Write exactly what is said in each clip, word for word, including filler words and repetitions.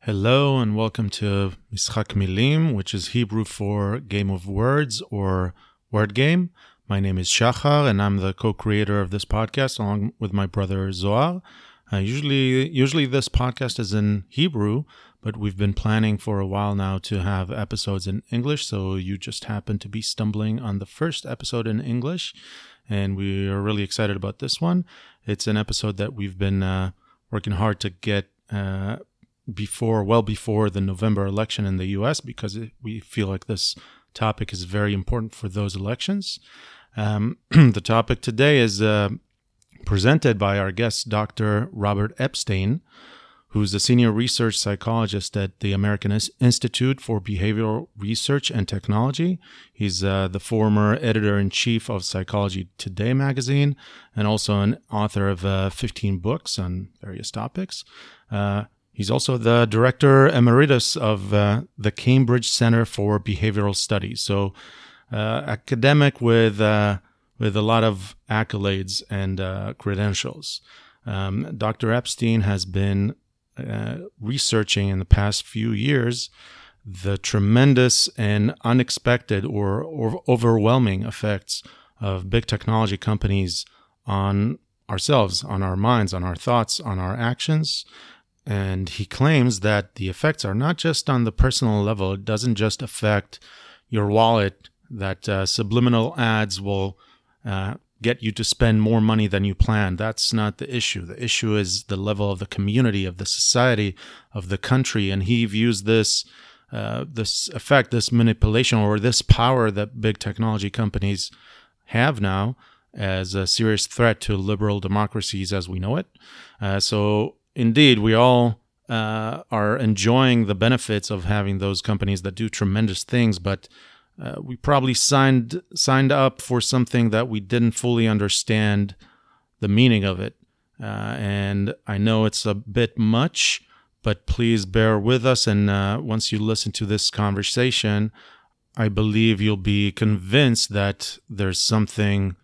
Hello and welcome to Mishak Milim, which is Hebrew for Game of Words or Word Game. My name is Shachar and I'm the co-creator of this podcast along with my brother Zohar. Uh, usually, usually this podcast is in Hebrew, but we've been planning for a while now to have episodes in English, so you just happen to be stumbling on the first episode in English, and we are really excited about this one. It's an episode that we've been uh, working hard to get uh, before, well before the November election in the U S, because it, we feel like this topic is very important for those elections. Um, the topic today is uh, presented by our guest, Doctor Robert Epstein, who's a senior research psychologist at the American Institute for Behavioral Research and Technology. He's uh, the former editor-in-chief of Psychology Today magazine and also an author of uh, fifteen books on various topics. Uh, He's also the director emeritus of uh, the Cambridge Center for Behavioral Studies. So, uh, academic with uh, with a lot of accolades and uh, credentials. Um, Doctor Epstein has been uh, researching in the past few years the tremendous and unexpected or, or overwhelming effects of big technology companies on ourselves, on our minds, on our thoughts, on our actions. And he claims that the effects are not just on the personal level. It doesn't just affect your wallet, that uh, subliminal ads will uh, get you to spend more money than you planned. That's not the issue. The issue is the level of the community, of the society, of the country. And he views this uh, this effect, this manipulation, or this power that big technology companies have now as a serious threat to liberal democracies as we know it. Uh, so Indeed, we all uh, are enjoying the benefits of having those companies that do tremendous things, but uh, we probably signed signed up for something that we didn't fully understand the meaning of it. Uh, and I know it's a bit much, but please bear with us. And uh, once you listen to this conversation, I believe you'll be convinced that there's something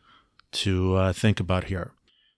to uh, think about here.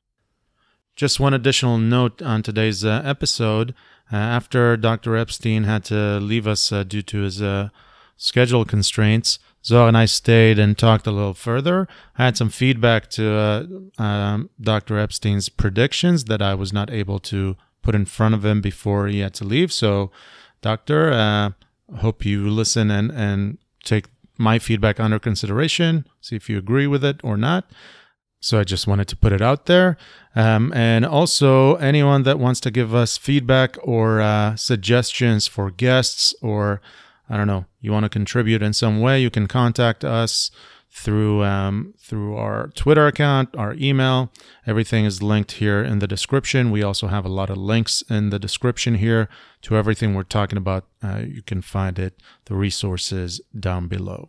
Just one additional note on today's uh, episode. Uh, after Doctor Epstein had to leave us uh, due to his uh, schedule constraints, Zohar and I stayed and talked a little further. I had some feedback to uh, um, Doctor Epstein's predictions that I was not able to put in front of him before he had to leave. So, Doctor, uh, hope you listen and, and take my feedback under consideration, see if you agree with it or not. So I just wanted to put it out there. Um, and also, anyone that wants to give us feedback or uh, suggestions for guests, or, I don't know, you want to contribute in some way, you can contact us through um, through our Twitter account, our email. Everything is linked here in the description. We also have a lot of links in the description here to everything we're talking about. Uh, you can find it, the resources down below.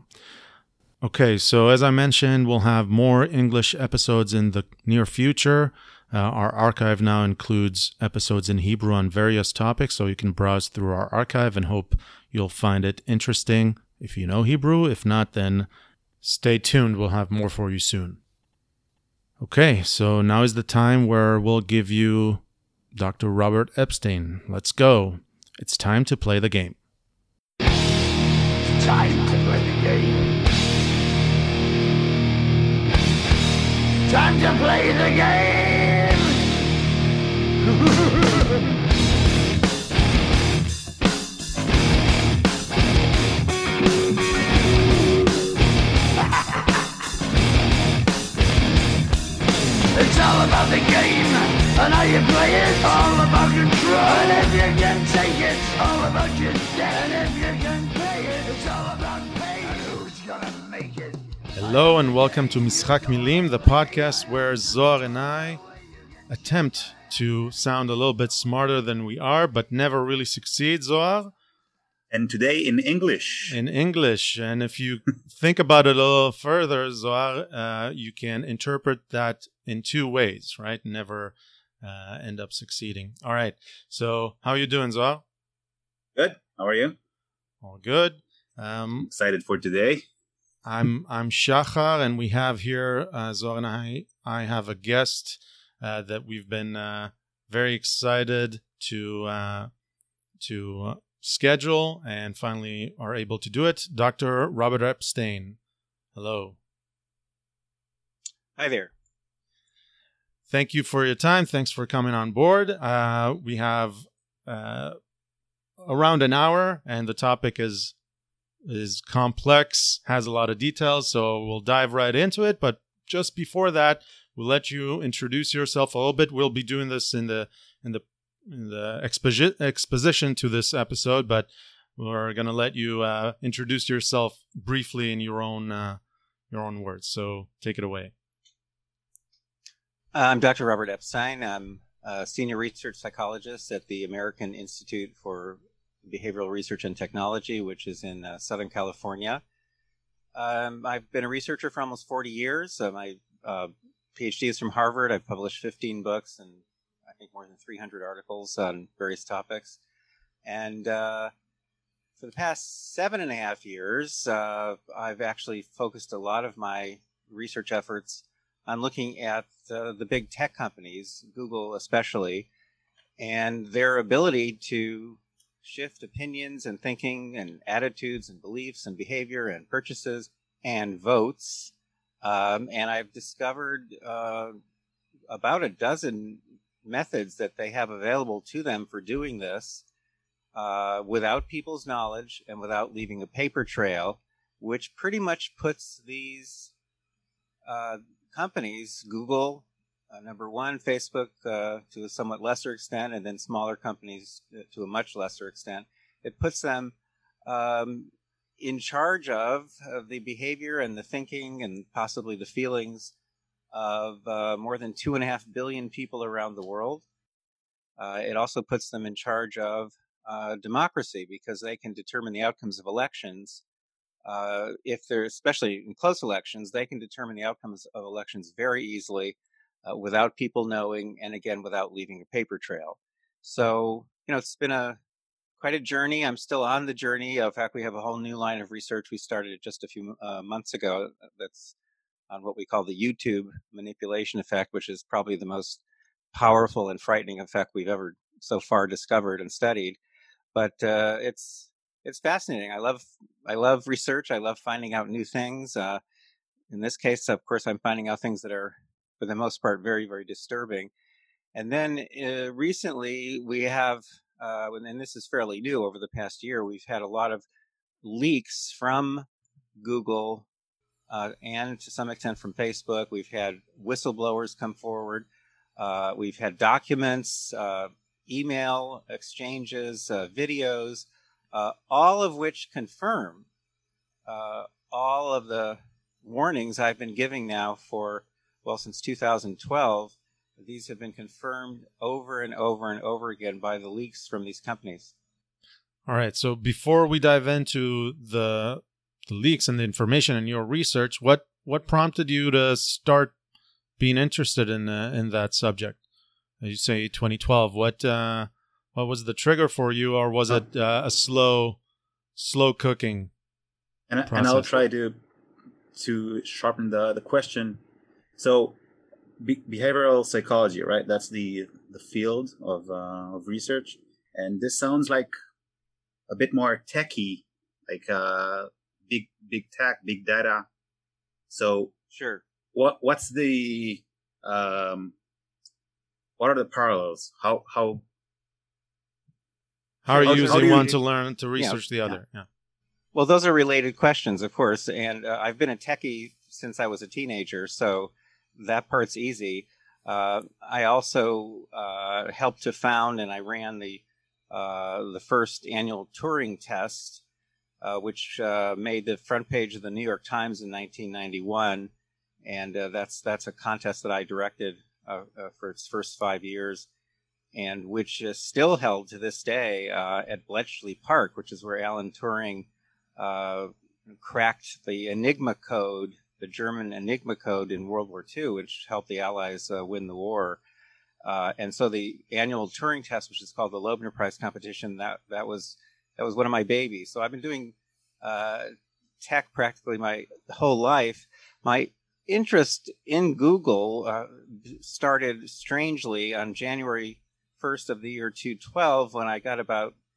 Okay, so as I mentioned, we'll have more English episodes in the near future. Uh, our archive now includes episodes in Hebrew on various topics, so you can browse through our archive and hope you'll find it interesting if you know Hebrew. If not, then stay tuned. We'll have more for you soon. Okay, so now is the time where we'll give you Doctor Robert Epstein. Let's go. It's time to play the game. It's time to play the game. Time to play the game! It's all about the game and how you play it. All about control. And if you can take it, it's all about your debt. And if you can pay it, it's all about pay. And who's gonna make it? Hello and welcome to Mishak Milim, the podcast where Zohar and I attempt to sound a little bit smarter than we are, but never really succeed, Zohar. And today in English. In English. And if you think about it a little further, Zohar, uh, you can interpret that in two ways, right? Never uh, end up succeeding. All right. So how are you doing, Zohar? Good. How are you? All good. Um, Excited for today. I'm I'm Shachar, and we have here, uh, Zohar and I, I have a guest uh, that we've been uh, very excited to uh, to uh, schedule and finally are able to do it. Doctor Robert Epstein, hello. Hi there. Thank you for your time. Thanks for coming on board. Uh, we have uh, around an hour, and the topic is is complex, has a lot of details, so we'll dive right into it. But just before that, we'll let you introduce yourself a little bit. We'll be doing this in the in the in the exposi- exposition to this episode, but we're going to let you uh, introduce yourself briefly in your own uh, your own words. So take it away. I'm Doctor Robert Epstein. I'm a senior research psychologist at the American Institute for Behavioral Research and Technology, which is in uh, Southern California. Um, I've been a researcher for almost forty years. Uh, my uh, PhD is from Harvard. I've published fifteen books and I think more than three hundred articles on various topics. And uh, for the past seven and a half years, uh, I've actually focused a lot of my research efforts on looking at uh, the big tech companies, Google especially, and their ability to shift opinions and thinking and attitudes and beliefs and behavior and purchases and votes. Um, and I've discovered uh, about a dozen methods that they have available to them for doing this uh, without people's knowledge and without leaving a paper trail, which pretty much puts these uh, companies, Google, uh, number one, Facebook uh, to a somewhat lesser extent, and then smaller companies to a much lesser extent. It puts them um, in charge of, of the behavior and the thinking and possibly the feelings of uh, more than two and a half billion people around the world. Uh, it also puts them in charge of uh, democracy because they can determine the outcomes of elections. Uh, if they're, especially in close elections, they can determine the outcomes of elections very easily uh, without people knowing, and again, without leaving a paper trail. So, you know, it's been a quite a journey. I'm still on the journey. In fact, we have a whole new line of research we started just a few uh, months ago that's on what we call the YouTube manipulation effect, which is probably the most powerful and frightening effect we've ever so far discovered and studied. But uh, it's It's fascinating. I love I love research. I love finding out new things. Uh, in this case, of course, I'm finding out things that are, for the most part, very, very disturbing. And then uh, recently we have, uh, and this is fairly new over the past year, we've had a lot of leaks from Google uh, and to some extent from Facebook. We've had whistleblowers come forward. Uh, we've had documents, uh, email exchanges, uh, videos, Uh, all of which confirm uh, all of the warnings I've been giving now for, well, since two thousand twelve. These have been confirmed over and over and over again by the leaks from these companies. All right. So before we dive into the, the leaks and the information in your research, what, what prompted you to start being interested in uh, in that subject? You say twenty twelve. What uh, What was the trigger for you, or was it uh, a slow, slow cooking And, process? and I'll try to to sharpen the, the question. So, be- behavioral psychology, right? That's the the field of uh, of research, and this sounds like a bit more techy, like uh, big big tech, big data. So, Sure. what what's the um, what are the parallels? How how How are How you do- how using do you- one to learn to research the yeah. other? Yeah. Well, those are related questions, of course. And uh, I've been a techie since I was a teenager, so that part's easy. Uh, I also uh, helped to found and I ran the uh, the first annual Turing test, uh, which uh, made the front page of the New York Times in nineteen ninety-one, and uh, that's that's a contest that I directed uh, uh, for its first five years. And which is still held to this day uh, at Bletchley Park, which is where Alan Turing uh, cracked the Enigma code, the German Enigma code in World War Two, which helped the Allies uh, win the war. Uh, and so the annual Turing test, which is called the Loebner Prize competition, that that was that was one of my babies. So I've been doing uh, tech practically my whole life. My interest in Google uh, started strangely on January first of the year two twelve when I got about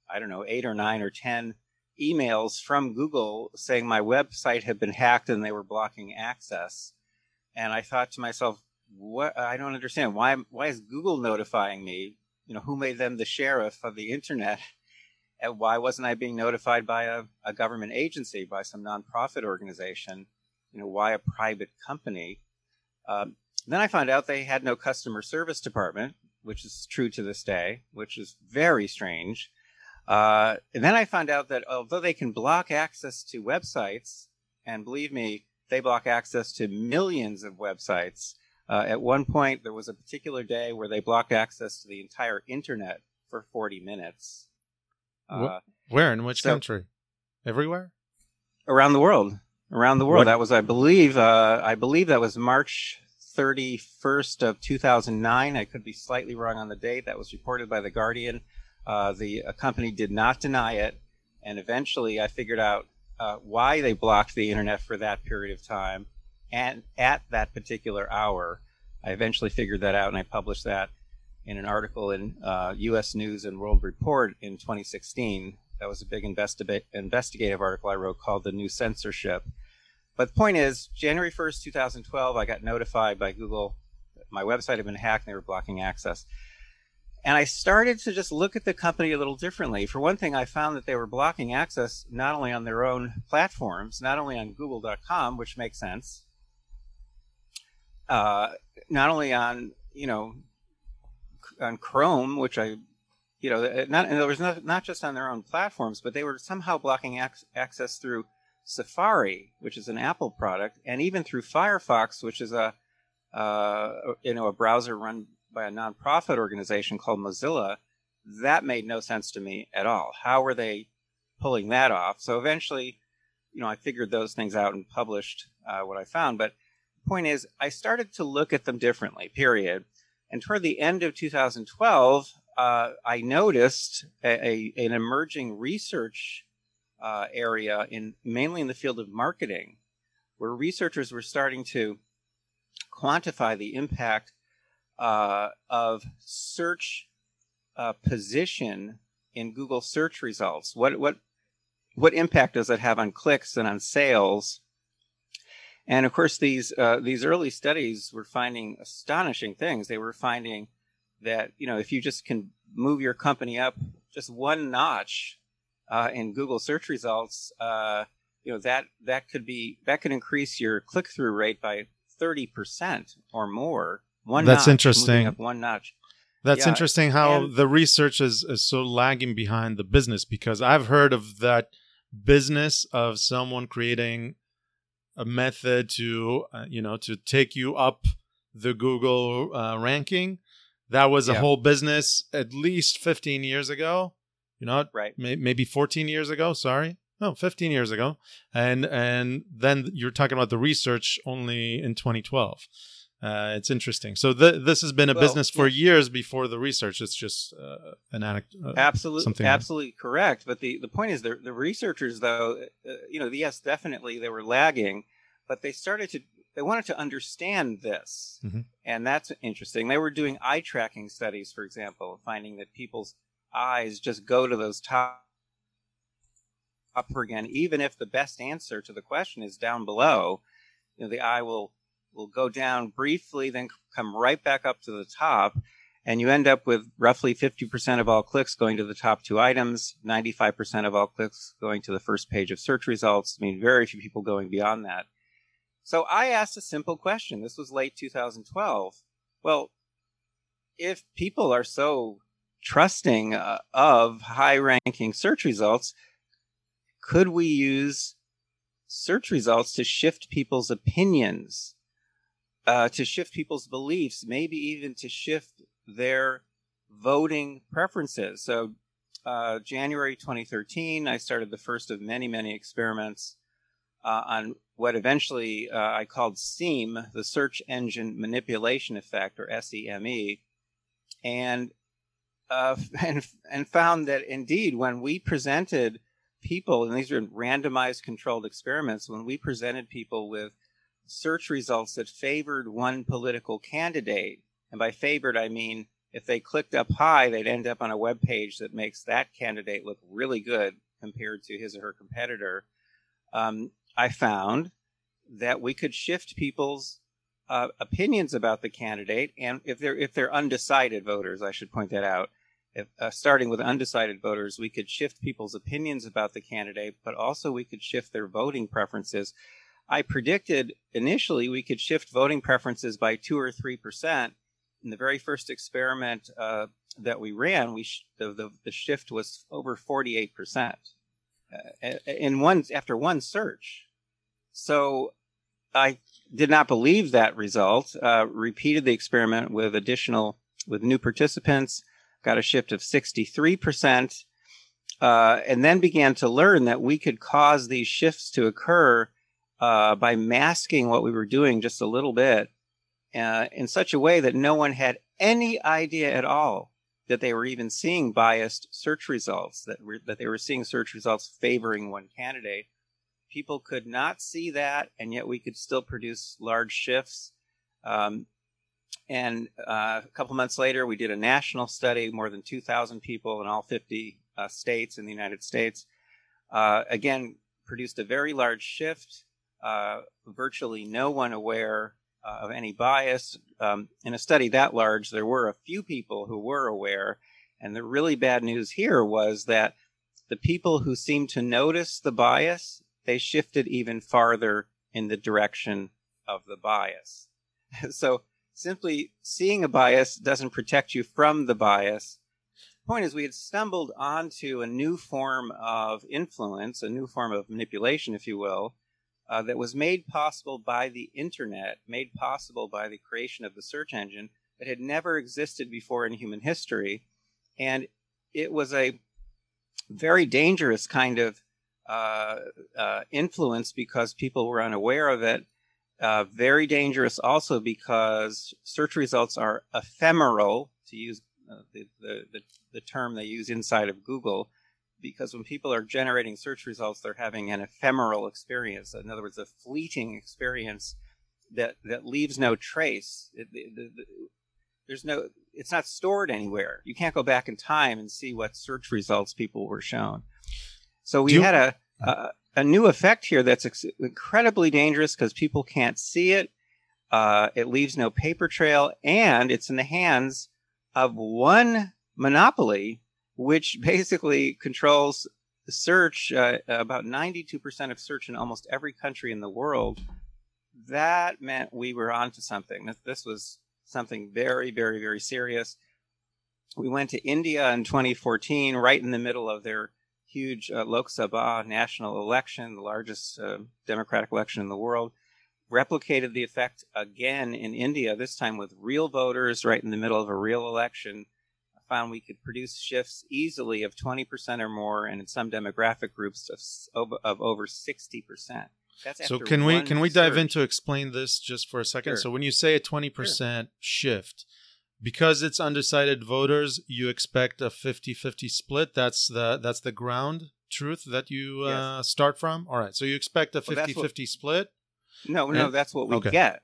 I don't know, eight or nine or ten emails from Google saying my website had been hacked and they were blocking access. And I thought to myself, what? I don't understand. Why, why is Google notifying me? You know, who made them the sheriff of the internet? And why wasn't I being notified by a, a government agency, by some nonprofit organization? You know, why a private company? Um, then I found out they had no customer service department, which is true to this day, which is very strange. Uh, and then I found out that although they can block access to websites, and believe me, they block access to millions of websites. Uh, at one point, there was a particular day where they blocked access to the entire internet for forty minutes. Uh, Where? In which so, country? Everywhere? Around the world. Around the world. What? That was, I believe, uh, I believe that was March thirty-first of two thousand nine. I could be slightly wrong on the date. That was reported by The Guardian. Uh, the uh, company did not deny it. And eventually I figured out uh, why they blocked the internet for that period of time. And at that particular hour, I eventually figured that out, and I published that in an article in uh, U S News and World Report in twenty sixteen. That was a big investi- investigative article I wrote called The New Censorship. But the point is, January first, twenty twelve, I got notified by Google that my website had been hacked and they were blocking access. And I started to just look at the company a little differently. For one thing, I found that they were blocking access not only on their own platforms, not only on google dot com, which makes sense, uh, not only on, you know, on Chrome, which I, you know, not, and there was not, not just on their own platforms, but they were somehow blocking ac- access through Safari, which is an Apple product, and even through Firefox, which is a, uh, you know, a browser run by a nonprofit organization called Mozilla. That made no sense to me at all. How were they pulling that off? So eventually, you know, I figured those things out and published uh, what I found. But the point is, I started to look at them differently, period. And toward the end of two thousand twelve, uh, I noticed a, a, an emerging research uh, area, in mainly in the field of marketing, where researchers were starting to quantify the impact uh, of search uh, position in Google search results. What what what impact does it have on clicks and on sales? And of course, these uh, these early studies were finding astonishing things. They were finding that, you know, if you just can move your company up just one notch uh, in Google search results, uh, you know, that that could be that could increase your click-through rate by thirty percent or more. One That's notch, interesting. moving up one notch. That's Yeah, interesting how and- the research is, is so lagging behind the business, because I've heard of that business of someone creating a method to, uh, you know, to take you up the Google uh, ranking. That was a Yeah. whole business at least fifteen years ago, you know, Right. may, maybe fourteen years ago. Sorry. No, fifteen years ago. And, and then you're talking about the research only in twenty twelve. Uh, it's interesting. So th- this has been a Well, business for yeah. years before the research. It's just uh, an anecdote. Uh, Absolutely, something absolutely correct. But the, the point is, the the researchers, though, uh, you know, yes, definitely they were lagging, but they started to they wanted to understand this, Mhm. and that's interesting. They were doing eye tracking studies, for example, finding that people's eyes just go to those top up again, even if the best answer to the question is down below. You know, the eye will will go down briefly, then come right back up to the top. And you end up with roughly fifty percent of all clicks going to the top two items, ninety-five percent of all clicks going to the first page of search results. I mean, very few people going beyond that. So I asked a simple question. This was late two thousand twelve. Well, if people are so trusting uh, of high-ranking search results, could we use search results to shift people's opinions, uh, to shift people's beliefs, maybe even to shift their voting preferences? So uh, January twenty thirteen, I started the first of many, many experiments uh, on what eventually uh, I called SEAM, the Search Engine Manipulation Effect, or SEME, and uh, and and found that indeed when we presented people, and these are randomized controlled experiments, when we presented people with search results that favored one political candidate, and by favored I mean if they clicked up high, they'd end up on a web page that makes that candidate look really good compared to his or her competitor. Um, I found that we could shift people's uh, opinions about the candidate, and if they're if they're undecided voters, I should point that out. If, uh, starting with undecided voters, we could shift people's opinions about the candidate, but also we could shift their voting preferences. I predicted initially we could shift voting preferences by two or three percent. In the very first experiment uh, that we ran, we sh- the, the the shift was over forty-eight percent uh, in one after one search. So I did not believe that result. Uh, repeated the experiment with additional with new participants, got a shift of sixty-three percent, uh, and then began to learn that we could cause these shifts to occur uh, by masking what we were doing just a little bit. Uh, in such a way that no one had any idea at all that they were even seeing biased search results, that, re- that they were seeing search results favoring one candidate. People could not see that, and yet we could still produce large shifts. Um, and uh, a couple months later, we did a national study, more than two thousand people in all fifty uh, states in the United States. Uh, again, produced a very large shift, uh, virtually no one aware Uh, of any bias. Um, in a study that large, there were a few people who were aware. And the really bad news here was that the people who seemed to notice the bias, they shifted even farther in the direction of the bias. So simply seeing a bias doesn't protect you from the bias. The point is, we had stumbled onto a new form of influence, a new form of manipulation, if you will, Uh, that was made possible by the internet, made possible by the creation of the search engine that had never existed before in human history. And it was a very dangerous kind of uh, uh, influence because people were unaware of it. Uh, very dangerous also because search results are ephemeral, to use uh, the, the, the, the term they use inside of Google. Because when people are generating search results, they're having an ephemeral experience. In other words, a fleeting experience that, that leaves no trace. It, the, the, the, there's no, it's not stored anywhere. You can't go back in time and see what search results people were shown. So we you, had a, a a new effect here that's ex- incredibly dangerous because people can't see it. Uh, it leaves no paper trail, and it's in the hands of one monopoly, which basically controls search, uh, about ninety-two percent of search in almost every country in the world. That meant we were onto something. This, this was something very, very, very serious. We went to India in twenty fourteen, right in the middle of their huge uh, Lok Sabha national election, the largest uh, democratic election in the world. Replicated the effect again in India, this time with real voters right in the middle of a real election. Found we could produce shifts easily of twenty percent or more, and in some demographic groups of, of over sixty percent. That's so after can we one can we dive search. into explain this just for a second? Sure. So when you say a twenty percent sure. shift, because it's undecided voters, you expect a fifty-fifty split. That's the that's the ground truth that you Yes. uh, start from. All right. So you expect a fifty-fifty well, split? No, no, and, that's what we okay. get.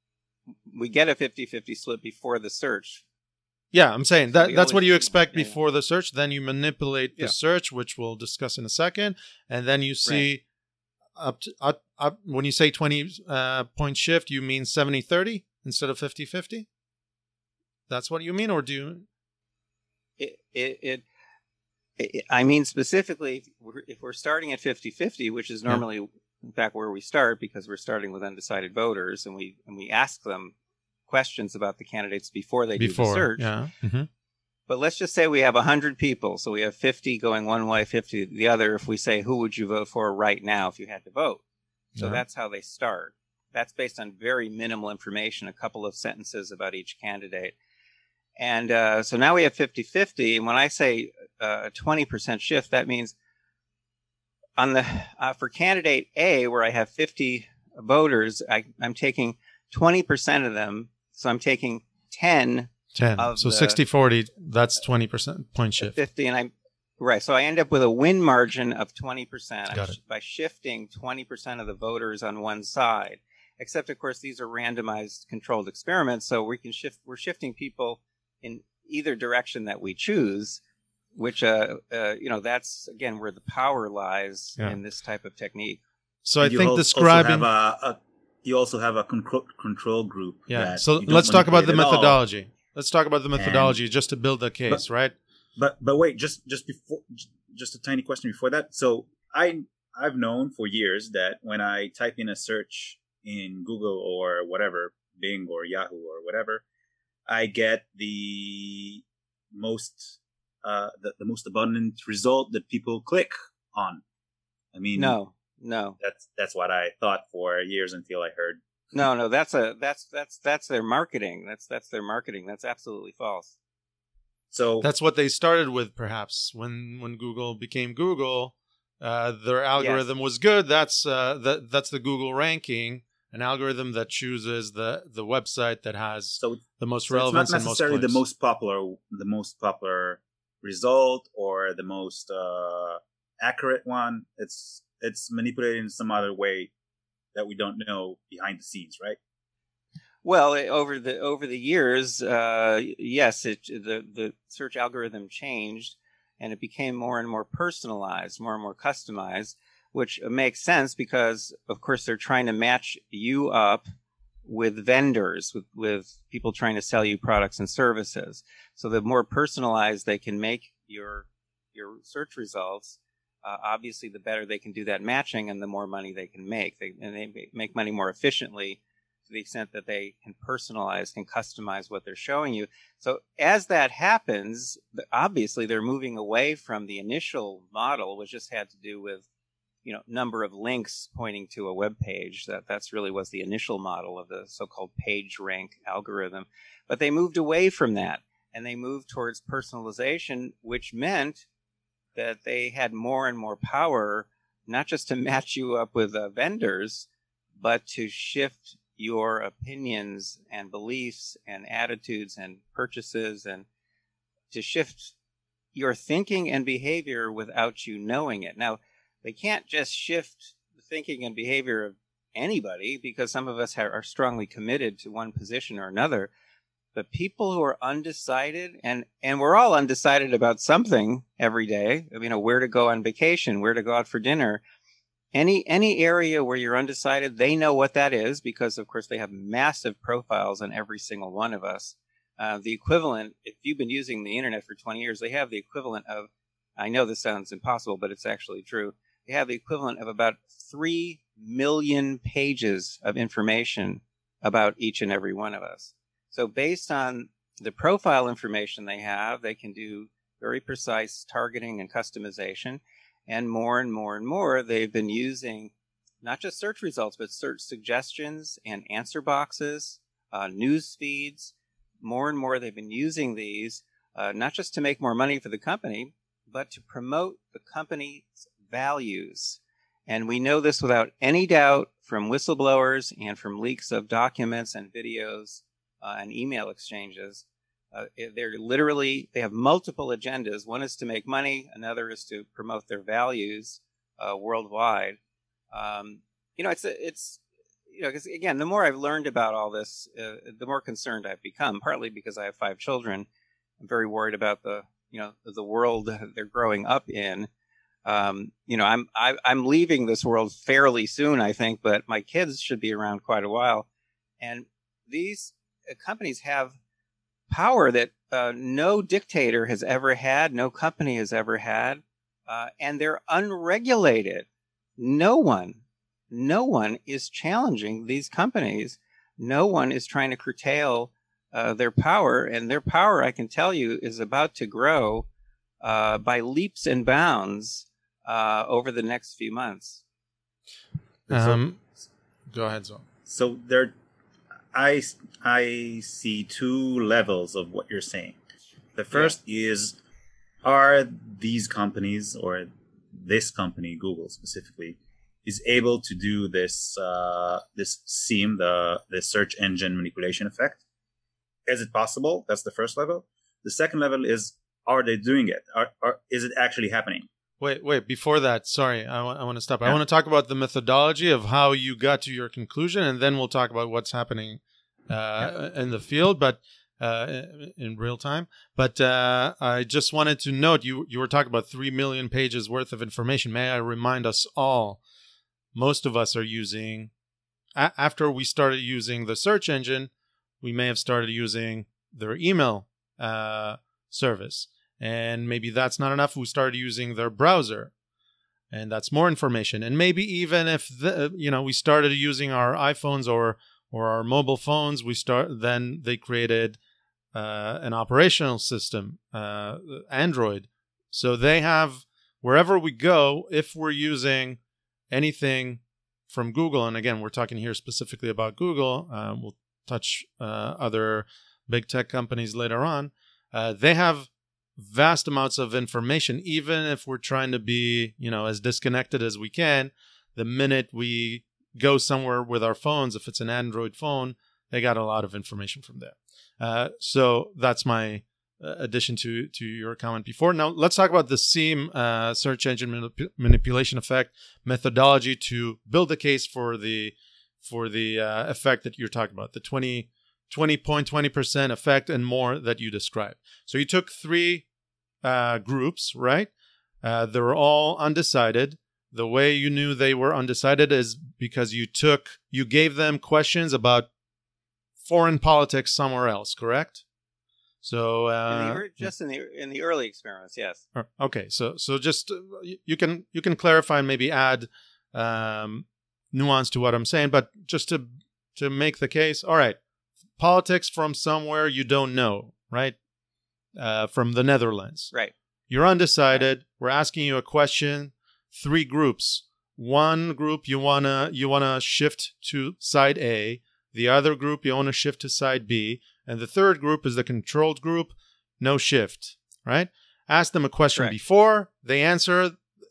We get a fifty-fifty split before the search. Yeah, I'm saying So that that's what always, you expect yeah, before yeah. the search. Then you manipulate the Yeah. search, which we'll discuss in a second, and then you see Right. up to up, up when you say twenty uh, point shift, you mean seventy thirty instead of fifty-fifty? That's what you mean, or do you? It, it, it, it I mean, specifically, if we're, if we're starting at fifty-fifty, which is normally, yeah. in fact, where we start, because we're starting with undecided voters, and we and we ask them questions about the candidates before they Before, do the search. yeah. Mm-hmm. But let's just say we have one hundred people. So we have fifty going one way, fifty the other. If we say, who would you vote for right now if you had to vote? So Yeah. that's how they start. That's based on very minimal information, a couple of sentences about each candidate. And uh, so now we have fifty-fifty. And when I say uh, a twenty percent shift, that means on the uh, for candidate A, where I have fifty voters, I, I'm taking twenty percent of them. So I'm taking ten. ten. Of so the, sixty forty, that's twenty percent point shift. fifty, and I'm right. So I end up with a win margin of twenty percent Got it. by shifting twenty percent of the voters on one side. Except, of course, these are randomized controlled experiments. So we can shift, we're shifting people in either direction that we choose, which, uh, uh, you know, that's, again, where the power lies Yeah. in this type of technique. So I You think al- describing. Also have a, a, you also have a control, control group. Yeah. that So you don't let's talk about the manipulate at all. methodology. Let's talk about the methodology just to build a case, right? But but wait, just just before, just a tiny question before that. So I I've known for years that when I type in a search in Google or whatever, Bing or Yahoo or whatever, I get the most uh, the, the most abundant result that people click on. I mean, No, no, that's that's what I thought for years until I heard. no, no. That's a that's that's that's their marketing. That's that's their marketing. That's absolutely false. So That's what they started with, perhaps when when Google became Google. Uh, their algorithm was good. That's uh, that that's the Google ranking, an algorithm that chooses the the website that has so the most So it's not relevance and most necessarily the clicks. most popular, the most popular result or the most uh, accurate one. It's it's manipulated in some other way that we don't know behind the scenes, right? Well, it- over the over the years, uh, yes, it, the the search algorithm changed, and it became more and more personalized, more and more customized, which makes sense because, of course, they're trying to match you up with vendors, with with people trying to sell you products and services. So the more personalized they can make your your search results, uh, obviously, the better they can do that matching, and the more money they can make. They and they make money more efficiently, to the extent that they can personalize, can customize what they're showing you. So as that happens, obviously they're moving away from the initial model, which just had to do with, you know, number of links pointing to a web page. That that's really was the initial model of the so-called page rank algorithm. But they moved away from that, and they moved towards personalization, which meant that they had more and more power, not just to match you up with uh, vendors, but to shift your opinions and beliefs and attitudes and purchases, and to shift your thinking and behavior without you knowing it. Now, they can't just shift the thinking and behavior of anybody, because some of us ha- are strongly committed to one position or another. But people who are undecided, and, and we're all undecided about something every day, you know, where to go on vacation, where to go out for dinner, Any any area where you're undecided, they know what that is, because, of course, they have massive profiles on every single one of us. Uh, the equivalent, if you've been using the internet for twenty years, they have the equivalent of, I know this sounds impossible, but it's actually true. They have the equivalent of about three million pages of information about each and every one of us. So based on the profile information they have, they can do very precise targeting and customization. And more and more and more, they've been using not just search results, but search suggestions and answer boxes, uh, news feeds. More and more, they've been using these, uh, not just to make more money for the company, but to promote the company's values. And we know this without any doubt from whistleblowers and from leaks of documents and videos uh, and email exchanges. Uh, they're literally, they have multiple agendas. One is to make money. Another is to promote their values uh, worldwide. Um, you know, it's, it's, you know, because again, the more I've learned about all this, uh, the more concerned I've become, partly because I have five children. I'm very worried about the, you know, the world they're growing up in. Um, you know, I'm, I, I'm leaving this world fairly soon, I think, but my kids should be around quite a while. And these companies have power that uh, no dictator has ever had, no company has ever had, uh, and they're unregulated. No one, no one is challenging these companies. No one is trying to curtail uh, their power, and their power, I can tell you, is about to grow uh, by leaps and bounds uh, over the next few months. Um, go ahead, Zoe. So there, I I see two levels of what you're saying. The first yeah. is, are these companies, or this company, Google specifically, is able to do this uh, this SEAM, the the search engine manipulation effect? Is it possible? That's the first level. The second level is, are they doing it? Are, are is it actually happening? Wait, wait. Before that, sorry, I, w- I want to stop. Yeah. I want to talk about the methodology of how you got to your conclusion, and then we'll talk about what's happening uh, yeah. in the field. But uh, in real time. But uh, I just wanted to note, you, you were talking about three million pages worth of information. May I remind us all, most of us are using, a- after we started using the search engine, we may have started using their email uh, service. And maybe that's not enough. We started using their browser, and that's more information. And maybe even if the, you know we started using our iPhones or or our mobile phones, we start then they created uh, an operational system, uh, Android. So they have, wherever we go, if we're using anything from Google, and again, we're talking here specifically about Google. Uh, we'll touch uh, other big tech companies later on. Uh, they have vast amounts of information, even if we're trying to be, you know, as disconnected as we can. The minute we go somewhere with our phones, if it's an Android phone, they got a lot of information from there. Uh, so that's my uh, addition to to your comment before. Now let's talk about the SEAM uh, search engine manip- manipulation effect methodology to build a case for the for the uh, effect that you're talking about, the twenty point two zero percent effect and more that you described. So you took three uh, groups, right? Uh, they were all undecided. The way you knew they were undecided is because you took, you gave them questions about foreign politics somewhere else, correct? So uh, in the, just in the in the early experiments, yes. Okay, so so just uh, you can you can clarify and maybe add um, nuance to what I'm saying, but just to to make the case, all right. Politics from somewhere you don't know, right? Uh, from the Netherlands. Right. You're undecided. Right. We're asking you a question. Three groups. One group you wanna you wanna shift to side A. The other group you wanna shift to side B. And the third group is the controlled group. No shift. Right? Ask them a question Correct. Before. They answer.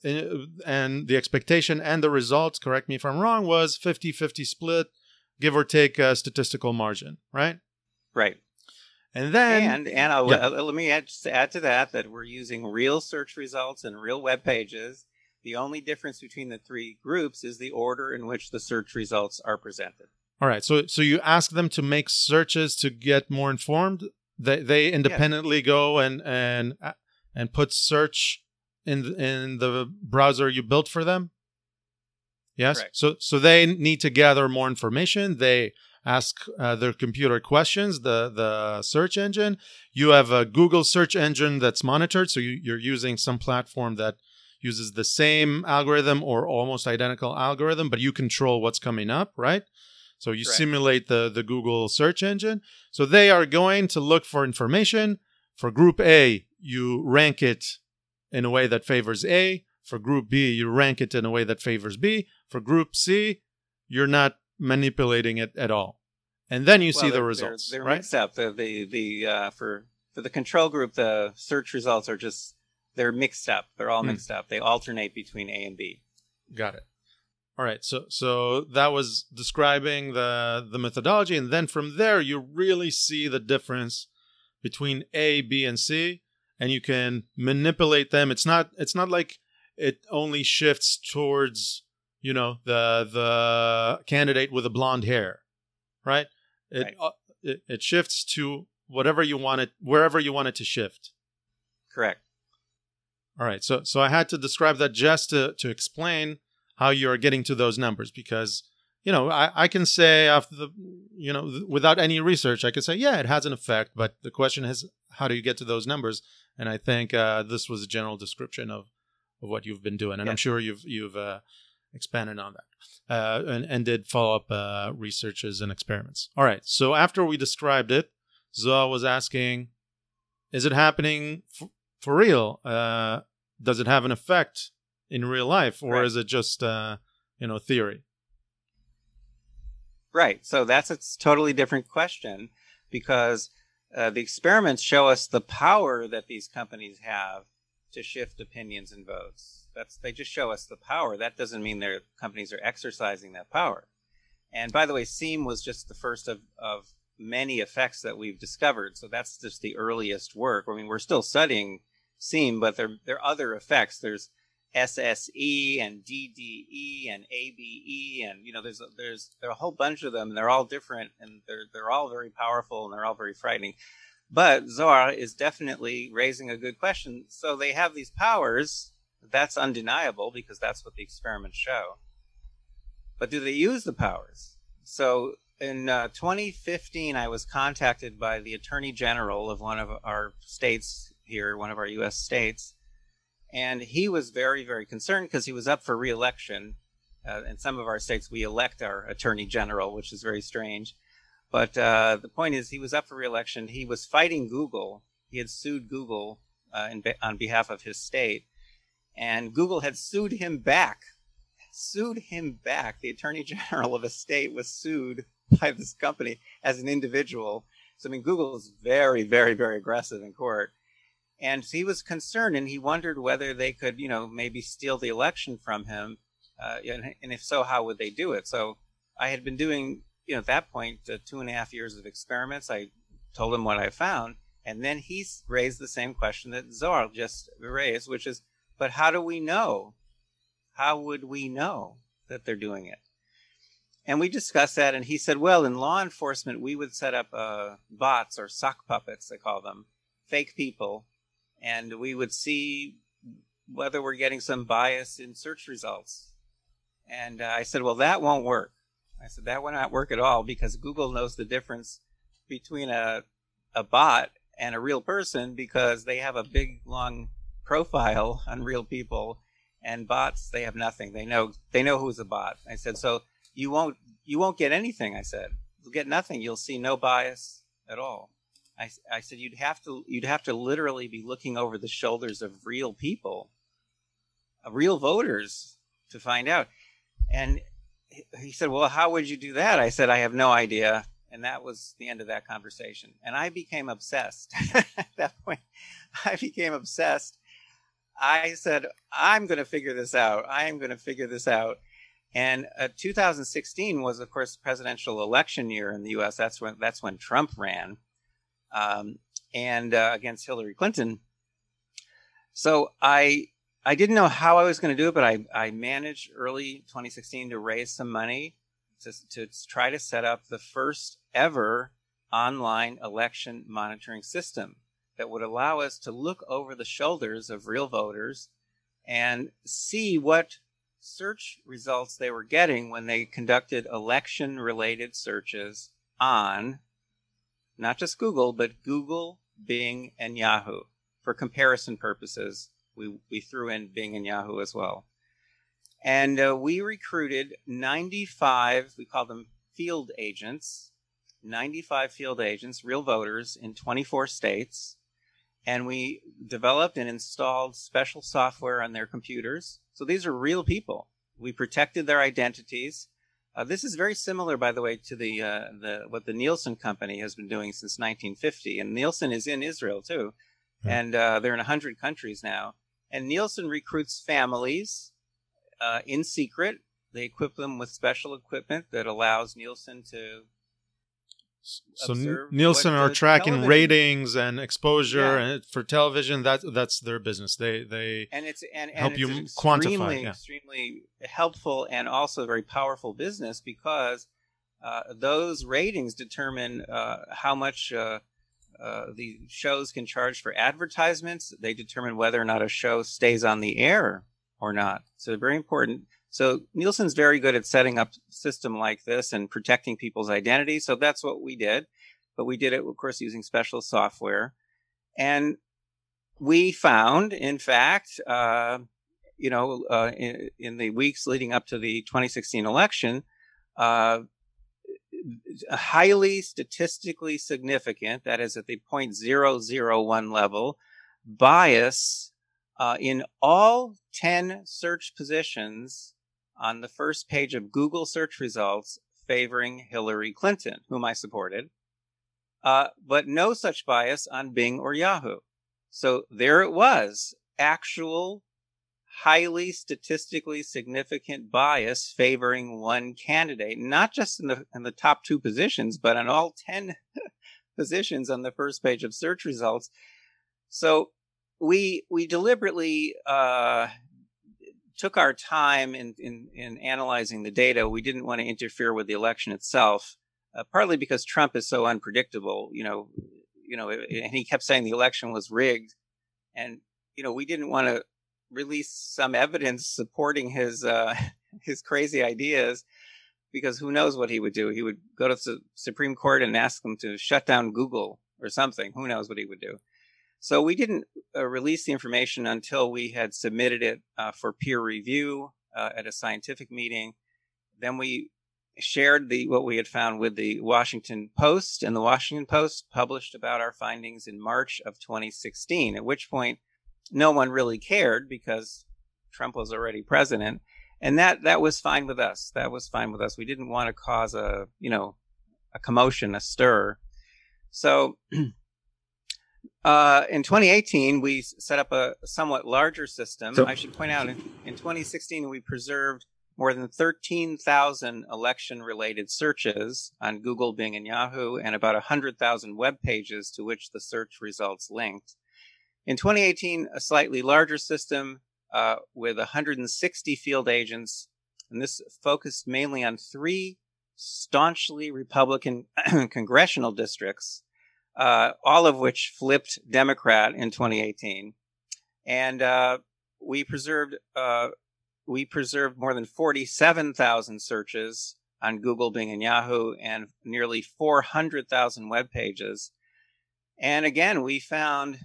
And the expectation and the results, correct me if I'm wrong, was fifty-fifty split. Give or take a statistical margin, right? Right. And then... And, and I'll, yeah. uh, let me add, just add to that that we're using real search results and real web pages. The only difference between the three groups is the order in which the search results are presented. All right. So so you ask them to make searches to get more informed? They they independently yes. go and, and, and put search in the, in the browser you built for them? Yes. Correct. So so they need to gather more information. They ask uh, their computer questions, the, the search engine. You have a Google search engine that's monitored. So you, you're using some platform that uses the same algorithm or almost identical algorithm, but you control what's coming up, right? So you Correct. Simulate the, the Google search engine. So they are going to look for information. For group A, you rank it in a way that favors A. For group B, you rank it in a way that favors B. For group C, you're not manipulating it at all. And then you well, see the results, they're, they're right? mixed up. The the, the uh, for for the control group, the search results are just they're mixed up. They're all mm. mixed up. They alternate between A and B. Got it. All right. So so that was describing the the methodology, and then from there you really see the difference between A, B, and C, and you can manipulate them. It's not it's not like it only shifts towards, you know, the the candidate with the blonde hair, right? It, right. Uh, it it shifts to whatever you want it, wherever you want it to shift. Correct. All right. So so I had to describe that just to to explain how you're getting to those numbers, because, you know, I, I can say after the, you know, without any research, I could say, yeah, it has an effect, but the question is, how do you get to those numbers? And I think uh, this was a general description of of what you've been doing, and yes. I'm sure you've you've uh, expanded on that uh, and and did follow up uh, researches and experiments. All right, so after we described it, Zoa was asking, is it happening f- for real? Uh, does it have an effect in real life, or right. is it just uh, you know theory? Right. So that's a totally different question, because uh, the experiments show us the power that these companies have to shift opinions and votes. That's they just show us the power. That doesn't mean their companies are exercising that power. And by the way, SEAM was just the first of, of many effects that we've discovered. So that's just the earliest work. I mean, we're still studying SEAM, but there there are other effects. There's S S E and D D E and A B E, and you know, there's there's there are a whole bunch of them, and they're all different, and they're they're all very powerful, and they're all very frightening. But Zohar is definitely raising a good question. So they have these powers. That's undeniable because that's what the experiments show. But do they use the powers? So in uh, twenty fifteen, I was contacted by the Attorney General of one of our states here, one of our U S states, and he was very, very concerned because he was up for re-election. Uh, in some of our states, we elect our Attorney General, which is very strange. But uh, the point is, he was up for re-election. He was fighting Google. He had sued Google uh, in be- on behalf of his state, and Google had sued him back. Sued him back. The Attorney General of a state was sued by this company as an individual. So I mean, Google is very, very, very aggressive in court. And he was concerned, and he wondered whether they could, you know, maybe steal the election from him. Uh, and, and if so, how would they do it? So I had been doing, you know, at that point, uh, two and a half years of experiments. I told him what I found. And then he raised the same question that Zohar just raised, which is, but how do we know? How would we know that they're doing it? And we discussed that, and he said, well, in law enforcement, we would set up uh, bots or sock puppets, they call them, fake people, and we would see whether we're getting some bias in search results. And uh, I said, well, that won't work. I said, that will not work at all because Google knows the difference between a, a bot and a real person because they have a big, long profile on real people, and bots, they have nothing. They know they know who's a bot. I said, so you won't you won't get anything. I said, you'll get nothing. You'll see no bias at all. I, I said you'd have to you'd have to literally be looking over the shoulders of real people, of real voters, to find out. And he said, well, how would you do that? I said, I have no idea. And that was the end of that conversation. And I became obsessed. At that point, I became obsessed. I said, I'm going to figure this out. I am going to figure this out. And uh, two thousand sixteen was, of course, presidential election year in the U S. That's when that's when Trump ran, um, and uh, against Hillary Clinton. So I I didn't know how I was going to do it, but I, I managed early twenty sixteen to raise some money to, to try to set up the first ever online election monitoring system that would allow us to look over the shoulders of real voters and see what search results they were getting when they conducted election-related searches on not just Google, but Google, Bing, and Yahoo. For comparison purposes, we, we threw in Bing and Yahoo as well. And uh, we recruited ninety-five, we call them field agents, ninety-five field agents, real voters in twenty-four states. And we developed and installed special software on their computers. So these are real people. We protected their identities. Uh, this is very similar, by the way, to the uh, the what the Nielsen company has been doing since nineteen fifty. And Nielsen is in Israel, too. Mm-hmm. And uh, they're in one hundred countries now. And Nielsen recruits families uh, in secret. They equip them with special equipment that allows Nielsen to So Nielsen are tracking television. ratings and exposure yeah. and for television. That that's their business. They they and it's and, and help it's you an quantify. Extremely, yeah. extremely helpful and also a very powerful business because uh, those ratings determine uh, how much uh, uh, the shows can charge for advertisements. They determine whether or not a show stays on the air or not. So very important. So Nielsen's very good at setting up a system like this and protecting people's identity. So that's what we did. But we did it, of course, using special software. And we found, in fact, uh, you know, uh, in, in the weeks leading up to the twenty sixteen election, uh, highly statistically significant, that is at the zero point zero zero one level, bias uh, in all ten search positions on the first page of Google search results favoring Hillary Clinton, whom I supported, uh, but no such bias on Bing or Yahoo. So there it was, actual, highly statistically significant bias favoring one candidate, not just in the in the top two positions, but on all ten positions on the first page of search results. So we we deliberately uh, took our time in, in, in analyzing the data. We didn't want to interfere with the election itself, uh, partly because Trump is so unpredictable, you know, you know, and he kept saying the election was rigged. And, you know, we didn't want to release some evidence supporting his, uh, his crazy ideas, because who knows what he would do. He would go to the Supreme Court and ask them to shut down Google or something. Who knows what he would do. So we didn't uh, release the information until we had submitted it uh, for peer review uh, at a scientific meeting. Then we shared the what we had found with the Washington Post, and the Washington Post published about our findings in March of twenty sixteen, at which point no one really cared because Trump was already president. And that, that was fine with us. That was fine with us. We didn't want to cause a, you know, a commotion, a stir. So uh, in twenty eighteen, we set up a somewhat larger system. So, I should point out, in, in twenty sixteen, we preserved more than thirteen thousand election-related searches on Google, Bing, and Yahoo, and about one hundred thousand web pages to which the search results linked. In twenty eighteen, a slightly larger system uh, with one hundred sixty field agents, and this focused mainly on three staunchly Republican congressional districts, uh, all of which flipped Democrat in twenty eighteen. And uh, we preserved uh, we preserved more than forty-seven thousand searches on Google, Bing, and Yahoo, and nearly four hundred thousand web pages. And again, we found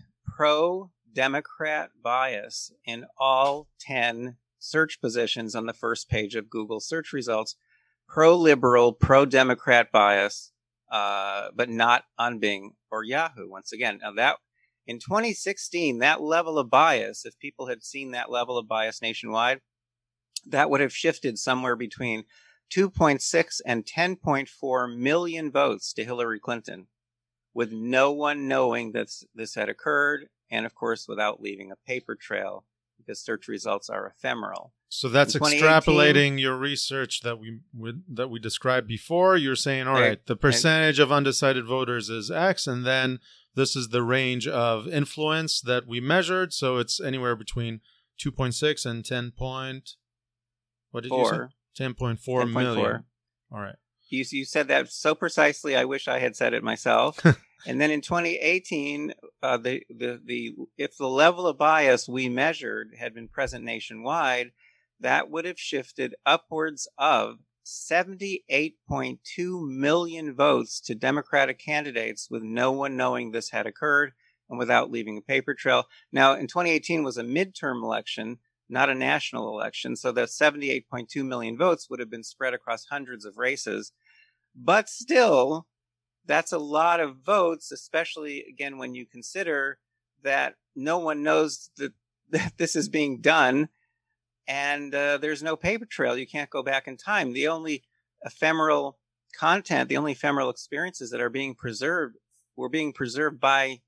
pro-Democrat bias in all ten search positions on the first page of Google search results. Pro-liberal, pro-Democrat bias, uh, but not on Bing or Yahoo. Once again, now that in twenty sixteen, that level of bias, if people had seen that level of bias nationwide, that would have shifted somewhere between two point six and ten point four million votes to Hillary Clinton, with no one knowing that this had occurred, and of course, without leaving a paper trail, because search results are ephemeral. So that's extrapolating your research that we would, that we described before. You're saying, all right, the percentage of undecided voters is X, and then this is the range of influence that we measured. So it's anywhere between two point six and ten point. What did Four. you say? ten point four million. All right. You, you said that so precisely, I wish I had said it myself. And then in twenty eighteen, uh, the, the, the, if the level of bias we measured had been present nationwide, that would have shifted upwards of seventy-eight point two million votes to Democratic candidates, with no one knowing this had occurred and without leaving a paper trail. Now, in twenty eighteen was a midterm election, not a national election, so the seventy-eight point two million votes would have been spread across hundreds of races. But still, that's a lot of votes, especially, again, when you consider that no one knows that, that this is being done, and uh, there's no paper trail. You can't go back in time. The only ephemeral content, the only ephemeral experiences that are being preserved were being preserved by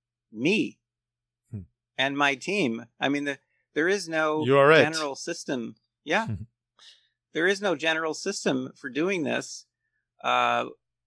me hmm. and my team. I mean, the There is no right. general system. Yeah. There is no general system for doing this. Uh,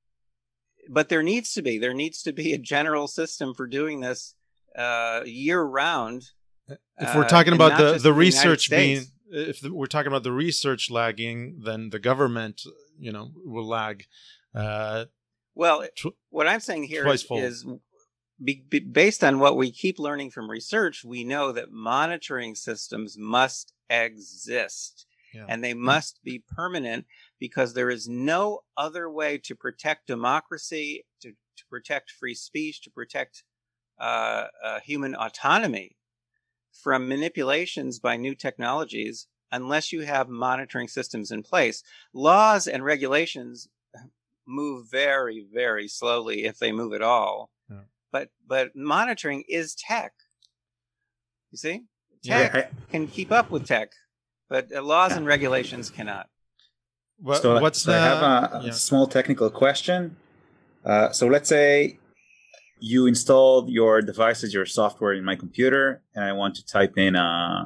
but there needs to be. There needs to be a general system for doing this uh, year round. If we're talking uh, about the, the research the being, if the, we're talking about the research lagging, then the government, you know, will lag. Uh, well, tw- what I'm saying here is, is Be, be, based on what we keep learning from research, we know that monitoring systems must exist, yeah. and they must be permanent, because there is no other way to protect democracy, to, to protect free speech, to protect uh, uh, human autonomy from manipulations by new technologies, unless you have monitoring systems in place. Laws and regulations move very, very slowly, if they move at all. Yeah. But but monitoring is tech. You see? Tech yeah. can keep up with tech, but uh, laws and regulations cannot. What, so, what's so the... I have a, yeah. a small technical question. Uh, so let's say you installed your devices, your software in my computer, and I want to type in a,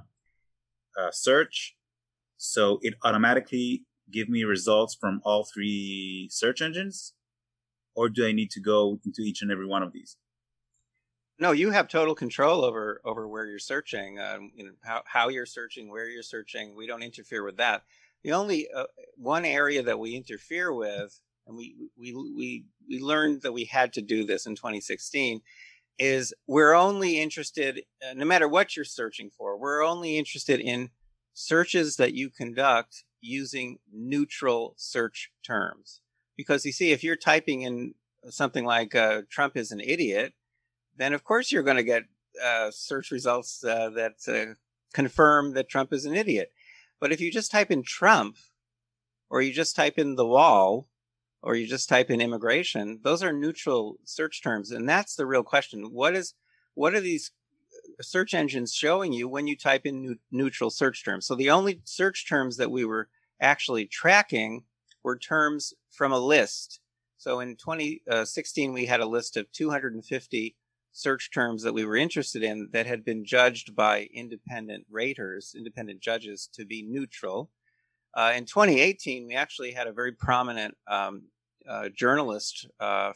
a search. So it automatically give me results from all three search engines? Or do I need to go into each and every one of these? no, you have total control over over where you're searching, um, you know, how how you're searching, where you're searching. We don't interfere with that. The only uh, one area that we interfere with, and we we we we learned that we had to do this in twenty sixteen, is we're only interested, uh, no matter what you're searching for, we're only interested in searches that you conduct using neutral search terms. Because you see, if you're typing in something like uh, Trump is an idiot, then of course you're going to get uh, search results uh, that uh, confirm that Trump is an idiot. But if you just type in Trump, or you just type in the wall, or you just type in immigration, those are neutral search terms. And that's the real question. What is, what are these search engines showing you when you type in new, neutral search terms? So the only search terms that we were actually tracking were terms from a list. So in twenty sixteen, we had a list of two hundred fifty search terms that we were interested in that had been judged by independent raters, independent judges, to be neutral. Uh, in twenty eighteen, we actually had a very prominent um, uh, journalist uh,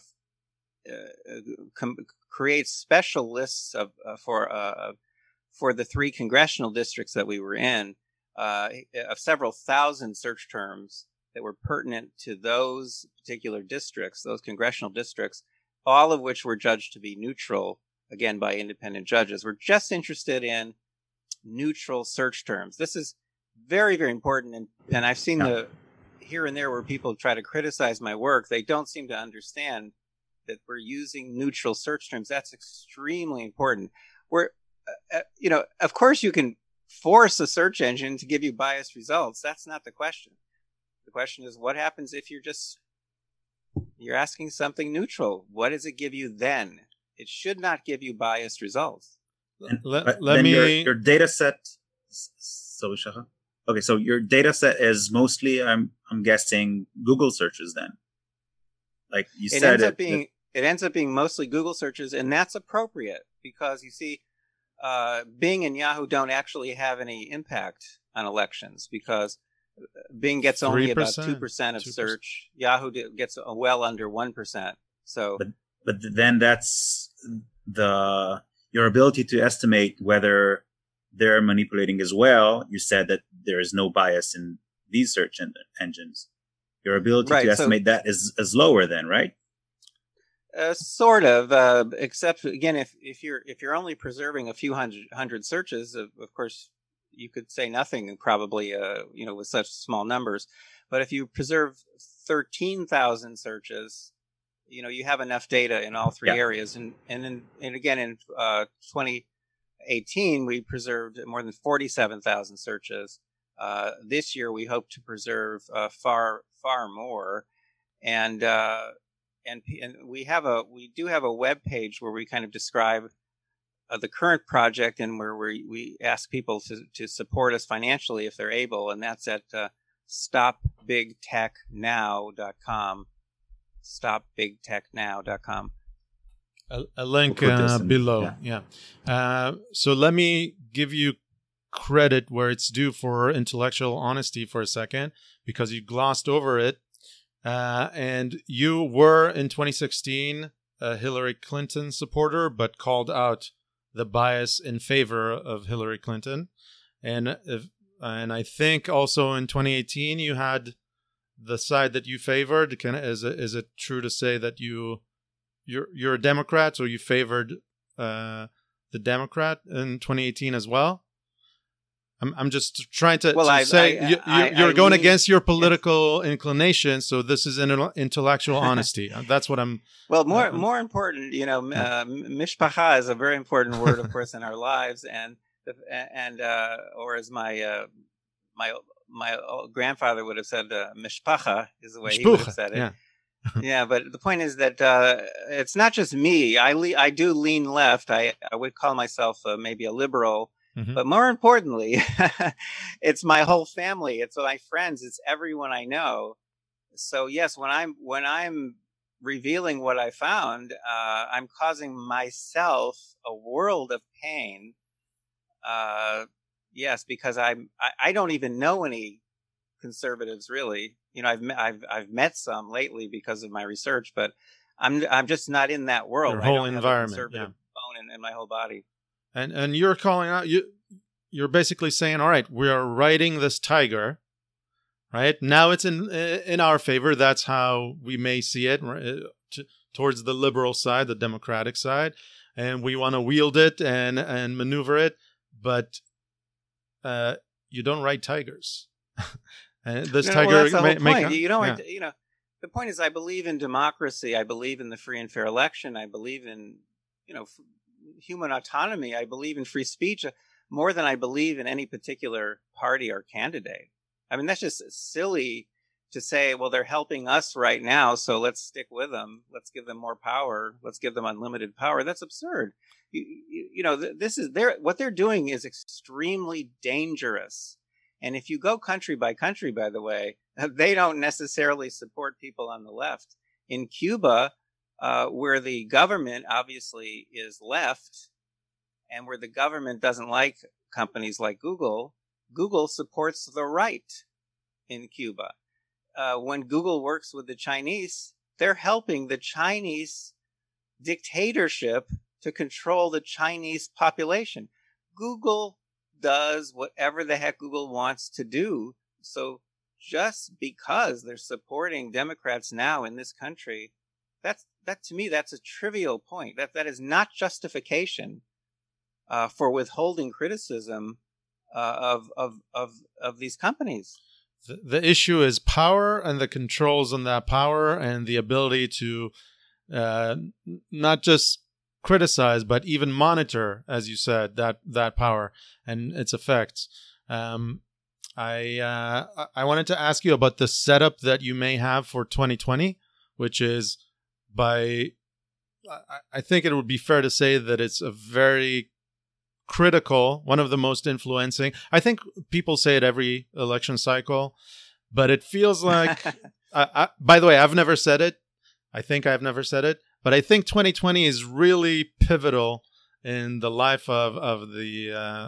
uh, com- create special lists of uh, for uh, for the three congressional districts that we were in, uh, of several thousand search terms that were pertinent to those particular districts, those congressional districts, all of which were judged to be neutral, again, by independent judges. We're just interested in neutral search terms. This is very, very important. And, and I've seen yeah. the here and there where people try to criticize my work. They don't seem to understand that we're using neutral search terms. That's extremely important. We're, uh, you know, of course you can force a search engine to give you biased results. That's not the question. The question is, what happens if you're just, you're asking something neutral? What does it give you then? It should not give you biased results. And, let, let me... Your, your data set, so Shacha? Okay, so your data set is mostly, I'm I'm guessing, Google searches then. Like you it said, ends it, up being, it, it ends up being mostly Google searches, and that's appropriate because you see, uh, Bing and Yahoo don't actually have any impact on elections because Bing gets only three percent, about two percent of two percent. search. Yahoo gets well under one percent. So, but but then that's the your ability to estimate whether they're manipulating as well. You said that there is no bias in these search en- engines. Your ability right, to estimate so, that is, is lower then, right? Uh, sort of, uh, except again, if, if you're if you're only preserving a few hundred hundred searches, of, of course, you could say nothing probably, uh, you know, with such small numbers. But if you preserve thirteen thousand searches, you know, you have enough data in all three yeah. areas. And and then, and again, in uh, twenty eighteen, we preserved more than forty-seven thousand searches. Uh, this year, we hope to preserve uh, far far more. And uh, and and we have a we do have a web page where we kind of describe Uh, the current project, and where we, we ask people to, to support us financially if they're able, and that's at uh, stop big tech now dot com. stop big tech now dot com. A, a link we'll uh, in, below. Yeah. yeah. Uh, so let me give you credit where it's due for intellectual honesty for a second, because you glossed over it. Uh, and you were in twenty sixteen a Hillary Clinton supporter, but called out the bias in favor of Hillary Clinton. And if, and I think also in twenty eighteen you had the side that you favored. Can, is it, is it true to say that you you're you're a Democrat, so you favored uh, the Democrat in twenty eighteen as well? I'm I'm just trying to, well, to I, say I, you, I, you're, you're I going mean, against your political inclination. So this is an intellectual honesty. That's what I'm. Well, more uh, more important, you know, uh, mishpacha is a very important word, of course, in our lives, and and uh, or as my uh, my my grandfather would have said, uh, mishpacha is the way he would have said it. Yeah. Yeah, but the point is that uh, it's not just me. I le- I do lean left. I I would call myself uh, maybe a liberal. Mm-hmm. But more importantly, it's my whole family. It's my friends. It's everyone I know. So yes, when I'm when I'm revealing what I found, uh, I'm causing myself a world of pain. Uh, yes, because I'm I, I don't even know any conservatives really. You know, I've I've I've met some lately because of my research, but I'm I'm just not in that world. Your I whole don't environment, have a conservative yeah. bone in, in my whole body. And and you're calling out you you're basically saying, all right, we are riding this tiger, right? Now it's in in our favor. That's how we may see it, right? T- towards the liberal side, the democratic side, and we want to wield it and and maneuver it, but uh, you don't ride tigers. And this no, tiger well, that's the may, whole may point. come- You know, yeah. I, you know, the point is, I believe in democracy. I believe in the free and fair election. I believe in, you know, f- human autonomy. I believe in free speech uh, more than I believe in any particular party or candidate. I mean, that's just silly to say, well, they're helping us right now, so let's stick with them. Let's give them more power. Let's give them unlimited power. That's absurd. You, you, you know, th- this is their what they're doing is extremely dangerous. And if you go country by country, by the way, they don't necessarily support people on the left. In Cuba, uh, where the government obviously is left and where the government doesn't like companies like Google, Google supports the right in Cuba. Uh, when Google works with the Chinese, they're helping the Chinese dictatorship to control the Chinese population. Google does whatever the heck Google wants to do. So just because they're supporting Democrats now in this country, that's that to me, that's a trivial point. That that is not justification uh, for withholding criticism uh, of of of of these companies. The, the issue is power and the controls on that power and the ability to uh, not just criticize, but even monitor, as you said, that that power and its effects. Um, I uh, I wanted to ask you about the setup that you may have for twenty twenty, which is by I, I think it would be fair to say that it's a very critical, one of the most influencing. I think people say it every election cycle, but it feels like. I, I, by the way, I've never said it. I think I've never said it. But I think twenty twenty is really pivotal in the life of of the uh,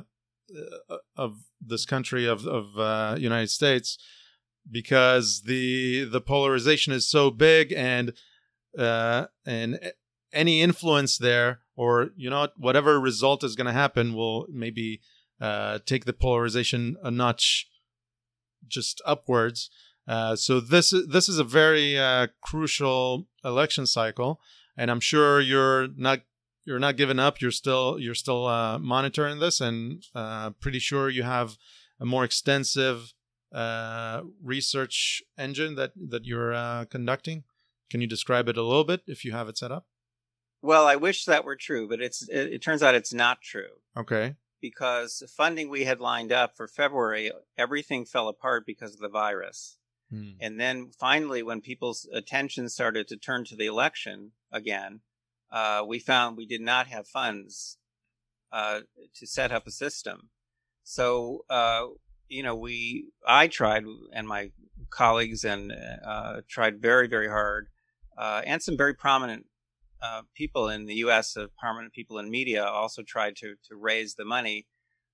of this country of of uh, United States, because the the polarization is so big, and uh, and any influence there, or you know whatever result is going to happen, will maybe uh, take the polarization a notch just upwards. Uh, so this is this is a very uh, crucial election cycle. And I'm sure you're not you're not giving up. You're still you're still uh, monitoring this, and uh, pretty sure you have a more extensive uh, research engine that that you're uh, conducting. Can you describe it a little bit if you have it set up? Well, I wish that were true, but it's it, it turns out it's not true. Okay. Because the funding we had lined up for February, everything fell apart because of the virus. Hmm. And then finally, when people's attention started to turn to the election again, uh, we found we did not have funds uh, to set up a system. So, uh, you know, we I tried, and my colleagues and uh, tried very, very hard, uh, and some very prominent uh, people in the U S, uh, prominent people in media also tried to to raise the money.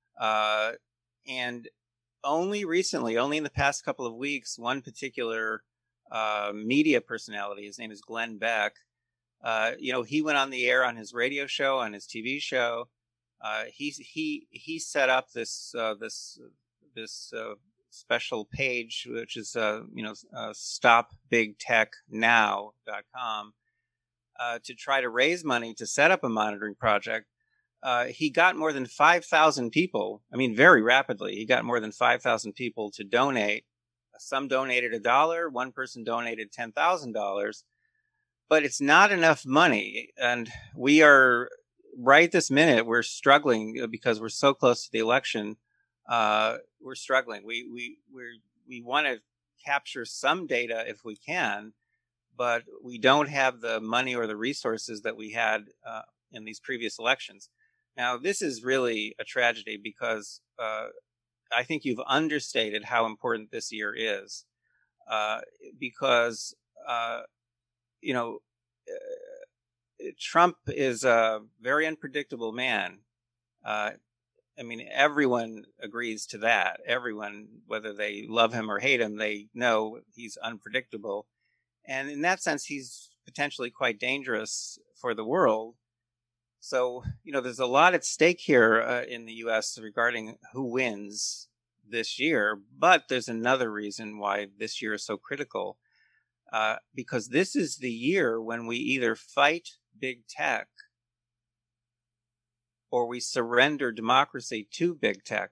Uh, and only recently, only in the past couple of weeks, one particular uh, media personality, his name is Glenn Beck, uh, you know, he went on the air on his radio show, on his T V show. Uh, he he he set up this uh, this this uh, special page, which is uh, you know uh, stop big tech now dot com, uh, to try to raise money to set up a monitoring project. Uh, he got more than five thousand people. I mean, very rapidly, he got more than five thousand people to donate. Some donated a dollar. One person donated ten thousand dollars. But it's not enough money. And we are, right this minute, we're struggling because we're so close to the election. Uh, we're struggling. We we we we want to capture some data if we can, but we don't have the money or the resources that we had uh, in these previous elections. Now, this is really a tragedy because uh, I think you've understated how important this year is. Uh, because, uh, you know, uh, Trump is a very unpredictable man. Uh, I mean, everyone agrees to that. Everyone, whether they love him or hate him, they know he's unpredictable. And in that sense, he's potentially quite dangerous for the world. So, you know, there's a lot at stake here uh, in the U S regarding who wins this year. But there's another reason why this year is so critical, uh, because this is the year when we either fight big tech or we surrender democracy to big tech.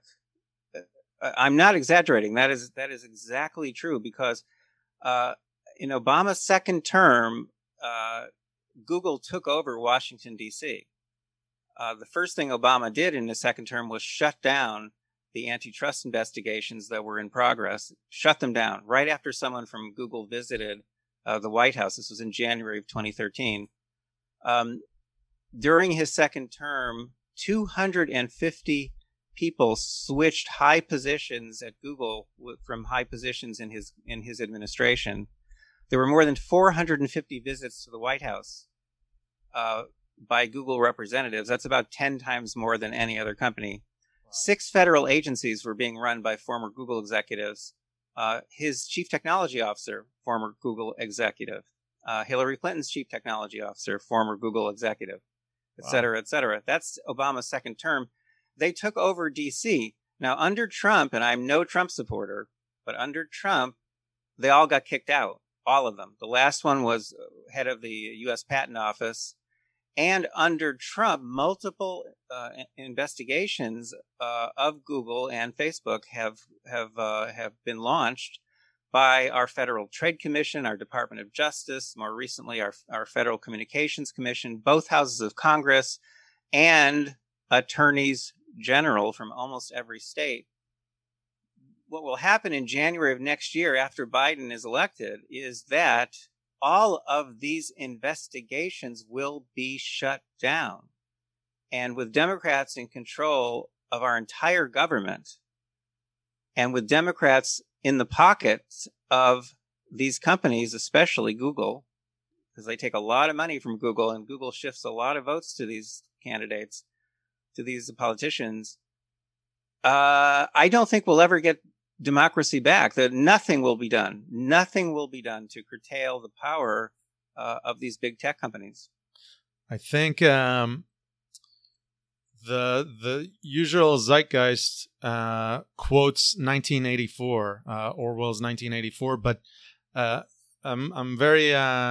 I'm not exaggerating. That is that is exactly true, because uh, in Obama's second term, uh, Google took over Washington, D C. Uh, the first thing Obama did in his second term was shut down the antitrust investigations that were in progress, shut them down right after someone from Google visited uh, the White House. This was in January of twenty thirteen. Um, during his second term, two hundred fifty people switched high positions at Google from high positions in his in his administration. There were more than four hundred fifty visits to the White House uh, by Google representatives. That's about ten times more than any other company. Wow. Six federal agencies were being run by former Google executives. Uh, his chief technology officer, former Google executive. Uh, Hillary Clinton's chief technology officer, former Google executive, et cetera, wow. et cetera. That's Obama's second term. They took over D C. Now, under Trump, and I'm no Trump supporter, but under Trump, they all got kicked out, all of them. The last one was head of the U S Patent Office. And under Trump, multiple uh, investigations uh, of Google and Facebook have have uh, have been launched by our Federal Trade Commission, our Department of Justice, more recently our our Federal Communications Commission, both houses of Congress, and attorneys general from almost every state. What will happen in January of next year after Biden is elected is that all of these investigations will be shut down. And with Democrats in control of our entire government, and with Democrats in the pockets of these companies, especially Google, because they take a lot of money from Google, and Google shifts a lot of votes to these candidates, to these politicians, uh, I don't think we'll ever get democracy back. That nothing will be done. Nothing will be done to curtail the power uh, of these big tech companies. I think um, the the usual zeitgeist uh, quotes nineteen eighty-four, uh, Orwell's nineteen eighty-four, but uh, I'm I'm very uh,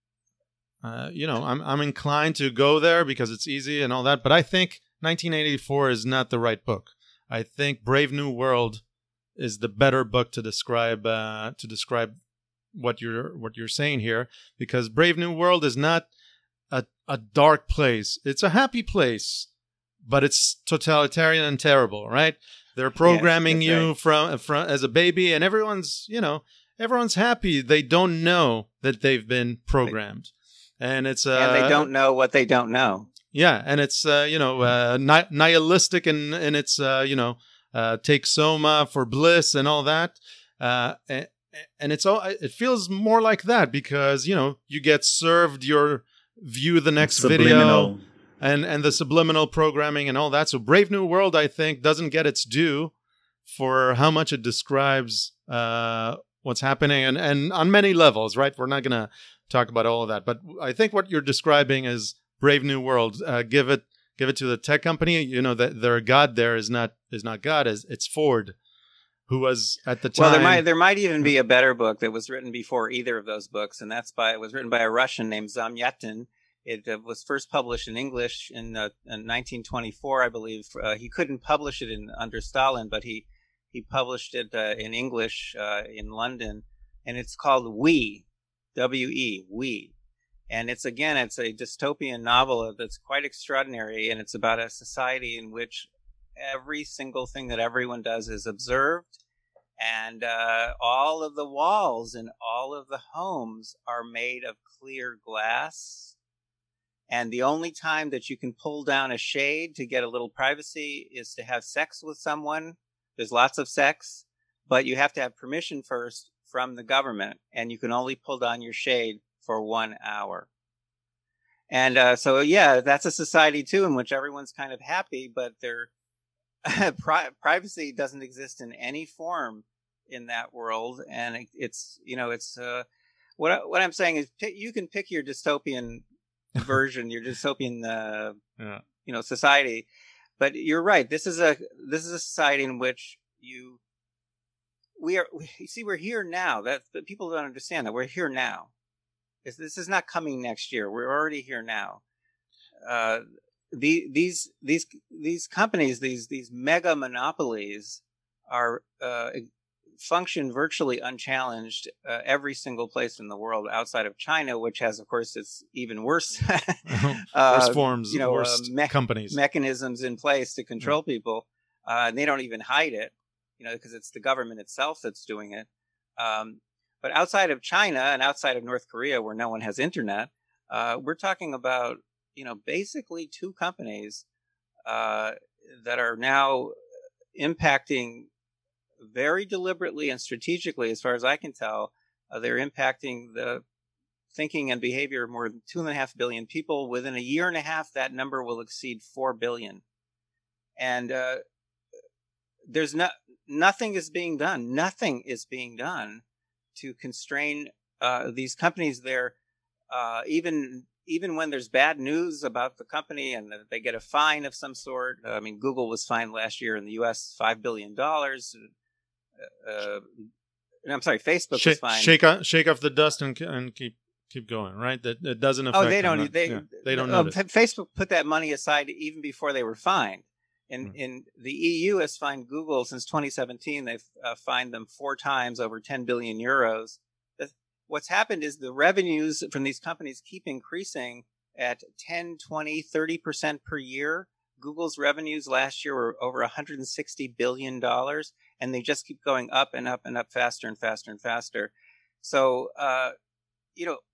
uh, you know I'm I'm inclined to go there because it's easy and all that. But I think nineteen eighty-four is not the right book. I think Brave New World is the better book to describe uh, to describe what you're what you're saying here, because Brave New World is not a a dark place. It's a happy place, but it's totalitarian and terrible, right? They're programming yes, you right. from from as a baby, and everyone's you know everyone's happy. They don't know that they've been programmed, right. and it's uh, and they don't know what they don't know. Yeah, and it's uh, you know uh, ni- nihilistic in in its uh, you know. Uh, take soma for bliss and all that, uh, and, and it's all. It feels more like that because you know you get served your view the next subliminal. video, and and the subliminal programming and all that. So Brave New World, I think, doesn't get its due for how much it describes uh, what's happening, and and on many levels. Right, we're not gonna talk about all of that, but I think what you're describing is Brave New World. Uh, give it. Give it to the tech company. You know that their God there is not is not God. Is it's Ford, who was at the time. Well, there might there might even be a better book that was written before either of those books, and that's by it was written by a Russian named Zamyatin. It uh, was first published in English in, uh, in nineteen twenty-four, I believe. Uh, he couldn't publish it in under Stalin, but he he published it uh, in English uh, in London, and it's called We, W E, We. And it's, again, it's a dystopian novel that's quite extraordinary, and it's about a society in which every single thing that everyone does is observed, and uh, all of the walls in all of the homes are made of clear glass, and the only time that you can pull down a shade to get a little privacy is to have sex with someone. There's lots of sex, but you have to have permission first from the government, and you can only pull down your shade for one hour. And uh, so, yeah, that's a society, too, in which everyone's kind of happy, but their pri- privacy doesn't exist in any form in that world. And it, it's, you know, it's uh, what, what I'm saying is pick, you can pick your dystopian version, your dystopian uh, yeah. you know, society. But you're right. This is a this is a society in which you we are. We, you see, we're here now. That, that people don't understand that we're here now. This, this is not coming next year. We're already here now. Uh, the, these these these companies, these these mega monopolies, are uh, function virtually unchallenged uh, every single place in the world outside of China, which has, of course, it's even worse. worse uh, forms, you know, worse uh, me- companies, mechanisms in place to control yeah. people, uh, and they don't even hide it, you know, because it's the government itself that's doing it. Um, but outside of China and outside of North Korea, where no one has internet, uh, we're talking about, you know, basically two companies uh, that are now impacting very deliberately and strategically, as far as I can tell. Uh, they're impacting the thinking and behavior of more than two and a half billion people. Within a year and a half, that number will exceed four billion. And uh, there's no, nothing is being done. Nothing is being done to constrain uh, these companies. There, uh, even even when there's bad news about the company and they get a fine of some sort. I mean, Google was fined last year in the U S five billion dollars. Uh, I'm sorry, Facebook Sh- was fined. Shake off, shake off the dust and and keep keep going. Right, that it doesn't affect. Oh, they don't. Them, They yeah, they don't uh, notice. Facebook put that money aside even before they were fined. In Hmm. in the E U has fined Google since twenty seventeen. They've uh, fined them four times over ten billion euros. The, what's happened is the revenues from these companies keep increasing at ten, twenty, thirty percent per year. Google's revenues last year were over one hundred sixty billion dollars, and they just keep going up and up and up faster and faster and faster. So, uh, you know,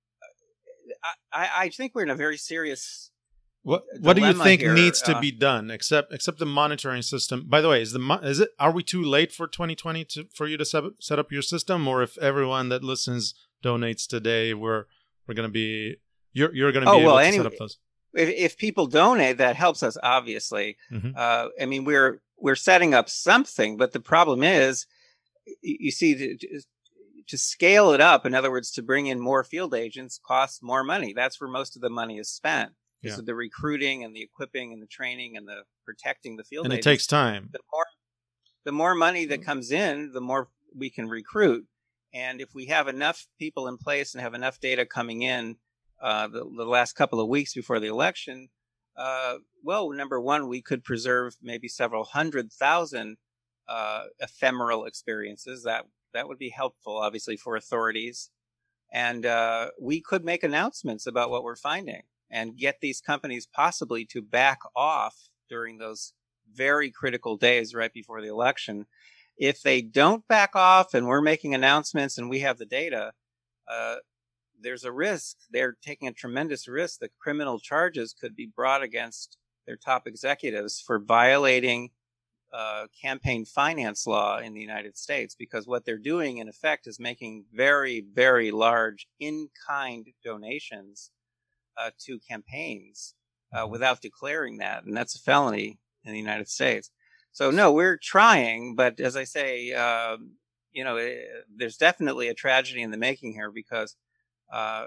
I, I think we're in a very serious What What do you dilemma think here. needs to Uh, be done, except except the monitoring system? By the way, is the mo- is it are we too late for twenty twenty to for you to set, set up your system, or if everyone that listens donates today, we're we're gonna be you're you're gonna be Oh, able well, to anyway, set up those? If, if people donate, that helps us, obviously. Mhm. Uh, I mean, we're we're setting up something, but the problem is, you, you see, to, to scale it up, in other words, to bring in more field agents costs more money. That's where most of the money is spent. Yeah. So the recruiting and the equipping and the training and the protecting the field And it agents. takes time. The more, the more money that comes in, the more we can recruit. And if we have enough people in place and have enough data coming in uh, the, the last couple of weeks before the election, uh, well, number one, we could preserve maybe several hundred thousand uh, ephemeral experiences. That that would be helpful, obviously, for authorities. And uh, we could make announcements about what we're finding and get these companies possibly to back off during those very critical days right before the election. If they don't back off and we're making announcements and we have the data, uh, there's a risk. They're taking a tremendous risk that criminal charges could be brought against their top executives for violating uh, campaign finance law in the United States, because what they're doing, in effect, is making very, very large in-kind donations uh, to campaigns uh, without declaring that. And that's a felony in the United States. So, no, we're trying. But as I say, uh, you know, it, there's definitely a tragedy in the making here, because uh,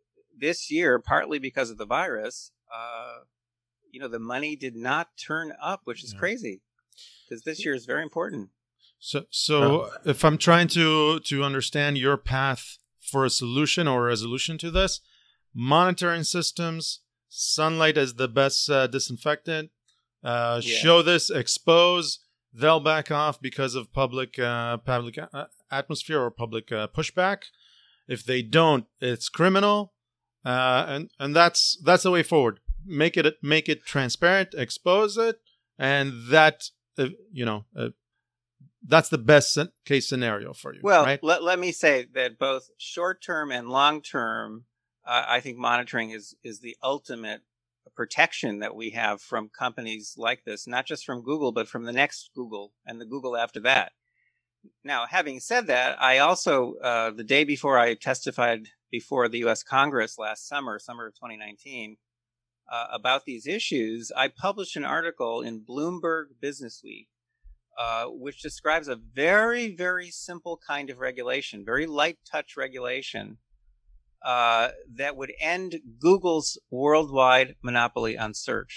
this year, partly because of the virus, uh, you know, the money did not turn up, which is Yeah. crazy, because this year is very important. So, so if I'm trying to to understand your path for a solution or a resolution to this, monitoring systems, sunlight as the best uh, disinfectant. Uh, Yeah. Show this, expose. They'll back off because of public uh, public uh, atmosphere or public uh, pushback. If they don't, it's criminal, uh, and and that's that's the way forward. Make it make it transparent, expose it, and that uh, you know uh, that's the best sen- case scenario for you. Well, right? let, let me say that both short-term and long-term, uh, I think monitoring is, is the ultimate protection that we have from companies like this, not just from Google, but from the next Google and the Google after that. Now, having said that, I also, uh, the day before I testified before the U S Congress last summer, summer of twenty nineteen, uh, about these issues, I published an article in Bloomberg Businessweek, uh, which describes a very, very simple kind of regulation, very light touch regulation, uh, that would end Google's worldwide monopoly on search.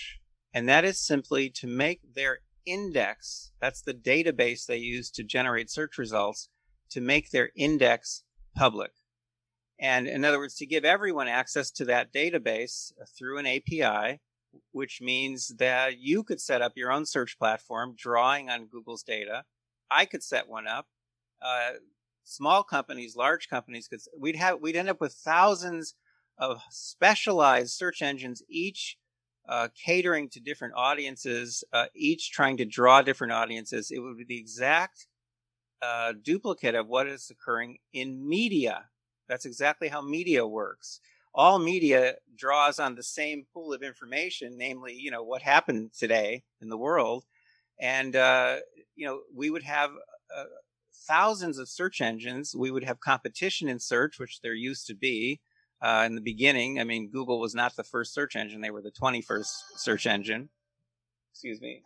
And that is simply to make their index, that's the database they use to generate search results, to make their index public. And in other words, to give everyone access to that database through an A P I, which means that you could set up your own search platform drawing on Google's data. I could set one up. Uh, small companies, large companies, because we'd have we'd end up with thousands of specialized search engines, each uh, catering to different audiences, uh, each trying to draw different audiences. It would be the exact uh, duplicate of what is occurring in media. That's exactly how media works. All media draws on the same pool of information, namely, you know, what happened today in the world. And, uh, you know, we would have uh, thousands of search engines. We would have competition in search, which there used to be uh, in the beginning. I mean, Google was not the first search engine. They were the twenty-first search engine. Excuse me.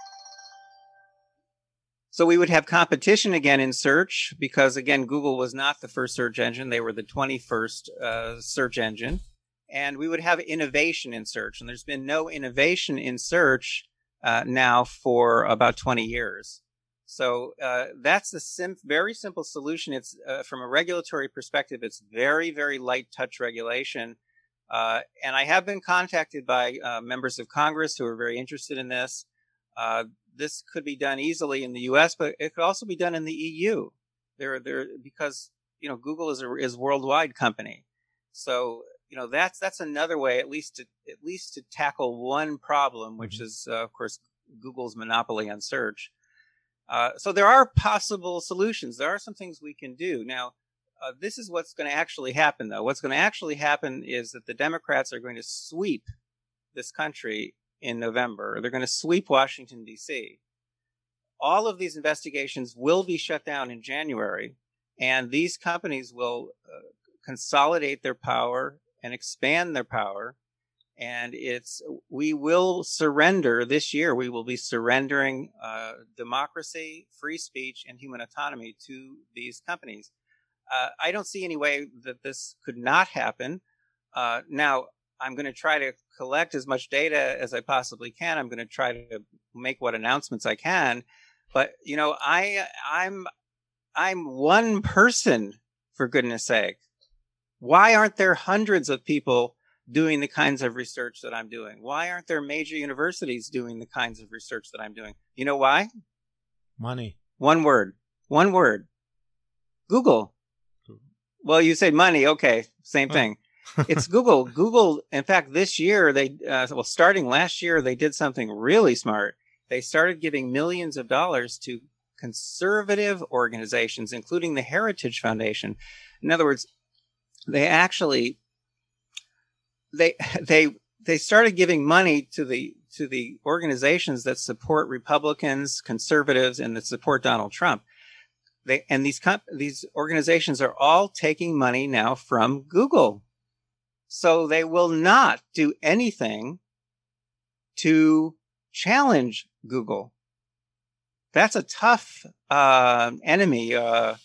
So we would have competition again in search because, again, Google was not the first search engine. They were the twenty-first uh, search engine. And we would have innovation in search. And there's been no innovation in search uh, now for about twenty years. So uh, that's the sim- very simple solution. It's uh, from a regulatory perspective, it's very, very light touch regulation. Uh, and I have been contacted by uh, members of Congress who are very interested in this. Uh, this could be done easily in the U S, but it could also be done in the E U. There, there, because you know Google is a is a worldwide company. So you know that's that's another way, at least to at least to tackle one problem, which is uh, of course Google's monopoly on search. Uh, so there are possible solutions. There are some things we can do. Now, uh, this is what's going to actually happen, though. What's going to actually happen is that the Democrats are going to sweep this country in November. They're going to sweep Washington, D C. All of these investigations will be shut down in January, and these companies will uh, consolidate their power and expand their power. And it's we will surrender this year. We will be surrendering uh, democracy, free speech, and human autonomy to these companies. Uh, I don't see any way that this could not happen. Uh, now, I'm going to try to collect as much data as I possibly can. I'm going to try to make what announcements I can. But you know, I I'm I'm one person, for goodness sake. Why aren't there hundreds of people doing the kinds of research that I'm doing? Why aren't there major universities doing the kinds of research that I'm doing? You know why? Money. One word. One word. Google. Well, you say money. Okay, same thing. It's Google. Google, in fact, this year, they uh, well, starting last year, they did something really smart. They started giving millions of dollars to conservative organizations, including the Heritage Foundation. In other words, they actually they they they started giving money to the to the organizations that support Republicans, conservatives, and that support Donald Trump. They and these comp- these organizations are all taking money now from Google. So they will not do anything to challenge Google. That's a tough uh, enemy uh,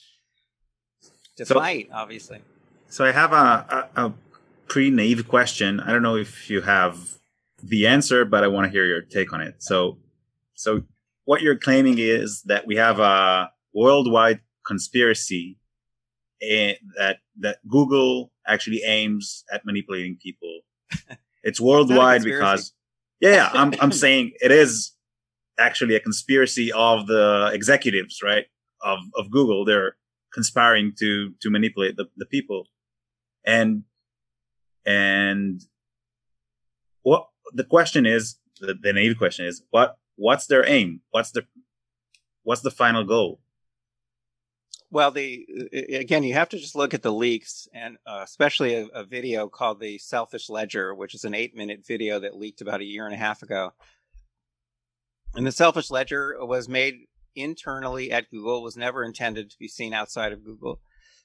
to So- fight, obviously. So I have a, a, a pretty naive question. I don't know if you have the answer, but I want to hear your take on it. So, so what you're claiming is that we have a worldwide conspiracy eh, that that Google actually aims at manipulating people. It's worldwide conspiracy. because, yeah, yeah, I'm I'm saying it is actually a conspiracy of the executives, right? Of of Google. They're conspiring to to manipulate the, the people. And and what the question is, the, the naive question is, what what's their aim? What's the what's the final goal? Well, the again, you have to just look at the leaks, and uh, especially a, a video called the Selfish Ledger, which is an eight-minute video that leaked about a year and a half ago. And the Selfish Ledger was made internally at Google, was never intended to be seen outside of Google.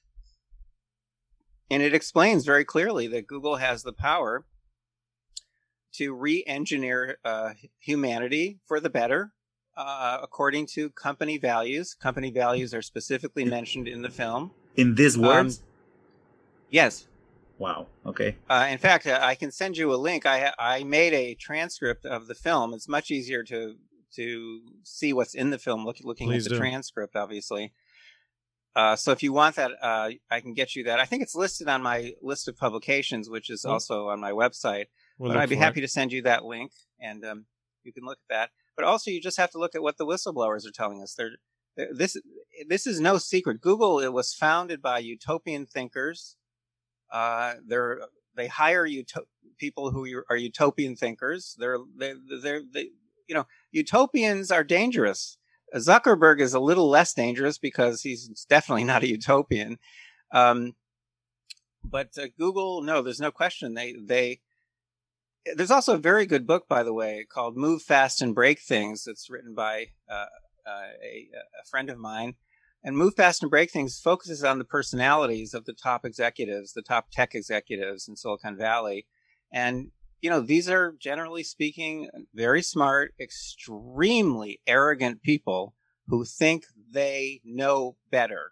And it explains very clearly that Google has the power to re-engineer uh, humanity for the better, uh, according to company values. Company values are specifically mentioned in the film. In these words, Um, yes. Wow. Okay. Uh, in fact, uh, I can send you a link. I I made a transcript of the film. It's much easier to to see what's in the film look, looking Please at the do. transcript, obviously. Uh, so if you want that, uh, I can get you that. I think it's listed on my list of publications, which is Well, also on my website. We'll But look I'd be for happy it. to send you that link, and um, you can look at that. But also, you just have to look at what the whistleblowers are telling us. They're, they're, this this is no secret. Google, it was founded by utopian thinkers. Uh, they're they hire uto- people who are utopian thinkers. They're they they're they, you know, utopians are dangerous. Zuckerberg is a little less dangerous because he's definitely not a utopian. Um, but uh, Google, no, there's no question. They they there's also a very good book, by the way, called "Move Fast and Break Things." It's written by uh, uh, a, a friend of mine. And Move Fast and Break Things focuses on the personalities of the top executives, the top tech executives in Silicon Valley. And, you know, these are, generally speaking, very smart, extremely arrogant people who think they know better.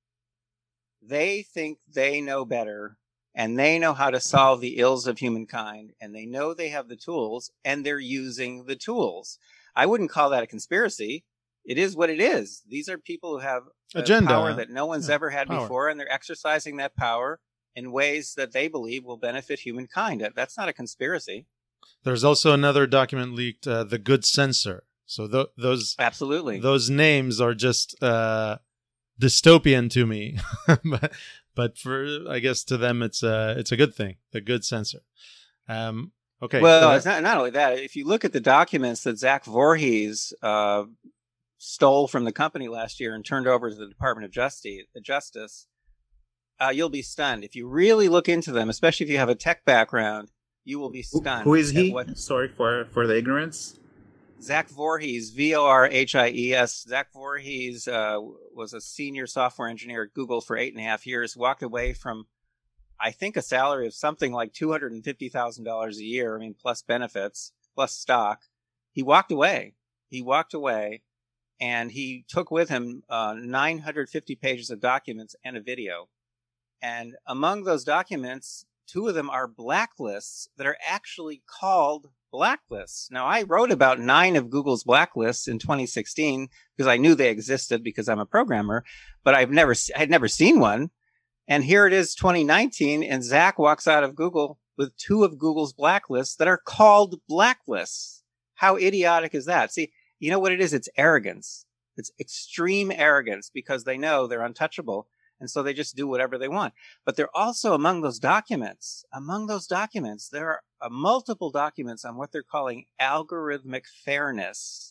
They think they know better, and they know how to solve the ills of humankind, and they know they have the tools, and they're using the tools. I wouldn't call that a conspiracy. It is what it is. These are people who have Agenda. power that no one's Yeah, ever had power. before, and they're exercising that power in ways that they believe will benefit humankind. That- That's not a conspiracy. There's also another document leaked, uh, the Good Censor. So th- those Absolutely. those names are just uh, dystopian to me, but but for I guess to them it's a it's a good thing. The Good Censor. Um, okay. Well, uh, it's not, not only that. If you look at the documents that Zach Voorhees uh, stole from the company last year and turned over to the Department of Justice, Justice uh, you'll be stunned. If you really look into them, especially if you have a tech background, you will be Who, stunned. who is at he? What Sorry for for the ignorance. Zach Voorhees, V O R H I E S. Zach Voorhees uh, was a senior software engineer at Google for eight and a half years, walked away from, I think, a salary of something like two hundred fifty thousand dollars a year, I mean, plus benefits, plus stock. He walked away. He walked away, and he took with him uh, nine hundred fifty pages of documents and a video. And among those documents, two of them are blacklists that are actually called blacklists. Now, I wrote about nine of Google's blacklists in twenty sixteen because I knew they existed because I'm a programmer, but I've never, I had never seen one. And here it is, twenty nineteen, and Zach walks out of Google with two of Google's blacklists that are called blacklists. How idiotic is that? See, you know what it is? It's arrogance. It's extreme arrogance because they know they're untouchable. And so they just do whatever they want. But they're also among those documents. Among those documents, there are uh, multiple documents on what they're calling algorithmic fairness.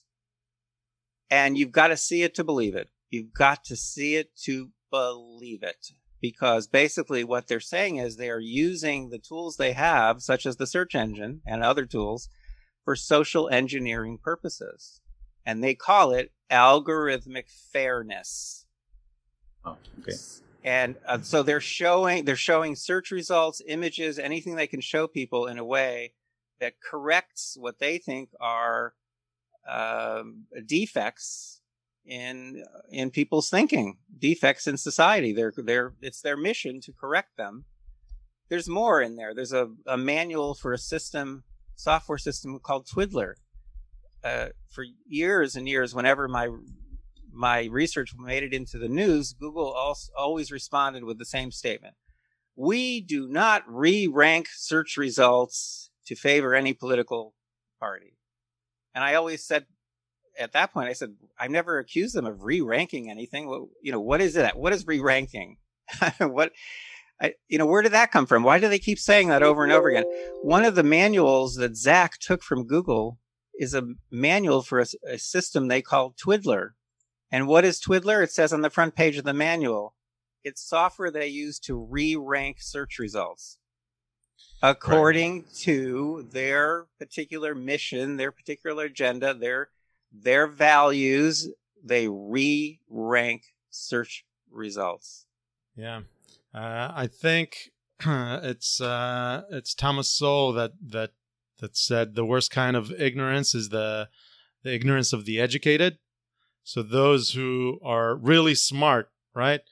And you've got to see it to believe it. You've got to see it to believe it. Because basically what they're saying is they are using the tools they have, such as the search engine and other tools, for social engineering purposes. And they call it algorithmic fairness. Oh, okay. And uh, so they're showing they're showing search results, images, anything they can show people in a way that corrects what they think are um, defects in in people's thinking, defects in society. They're they're it's their mission to correct them. There's more in there. There's a, a manual for a system, software system called Twiddler. Uh, for years and years, whenever my my research made it into the news, Google also always responded with the same statement. We do not re-rank search results to favor any political party. And I always said, at that point, I said, I've never accused them of re-ranking anything. What, you know, what is it? What is re-ranking? what, I, you know, where did that come from? Why do they keep saying that over and over again? One of the manuals that Zach took from Google is a manual for a, a system they call Twiddler. And what is Twiddler? It says on the front page of the manual, it's software they use to re-rank search results according right. to their particular mission, their particular agenda, their their values. They re-rank search results. Yeah, uh, I think it's uh, it's Thomas Sowell that that that said the worst kind of ignorance is the the ignorance of the educated. So those who are really smart, right,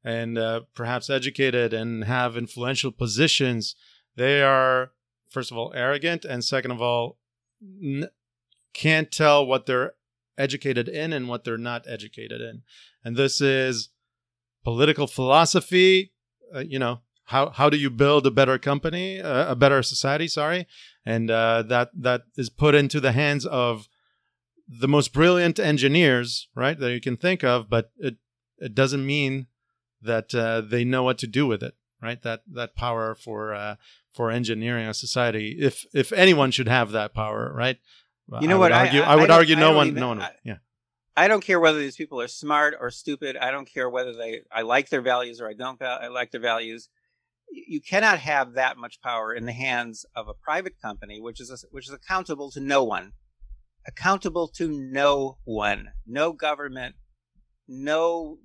and uh, perhaps educated and have influential positions, they are, first of all, arrogant, and second of all, n- can't tell what they're educated in and what they're not educated in. And this is political philosophy, uh, you know, how how do you build a better company, uh, a better society, sorry, and uh, that that is put into the hands of the most brilliant engineers, right, that you can think of, but it it doesn't mean that uh, they know what to do with it, right? That that power for uh, for engineering a society, if if anyone should have that power, right? You know I what? Would argue, I, I, I would I argue I no one, even, no one, I, yeah. I don't care whether these people are smart or stupid. I don't care whether they I like their values or I don't val- I like their values. You cannot have that much power in the hands of a private company, which is a, which is accountable to no one, accountable to no one, no government, no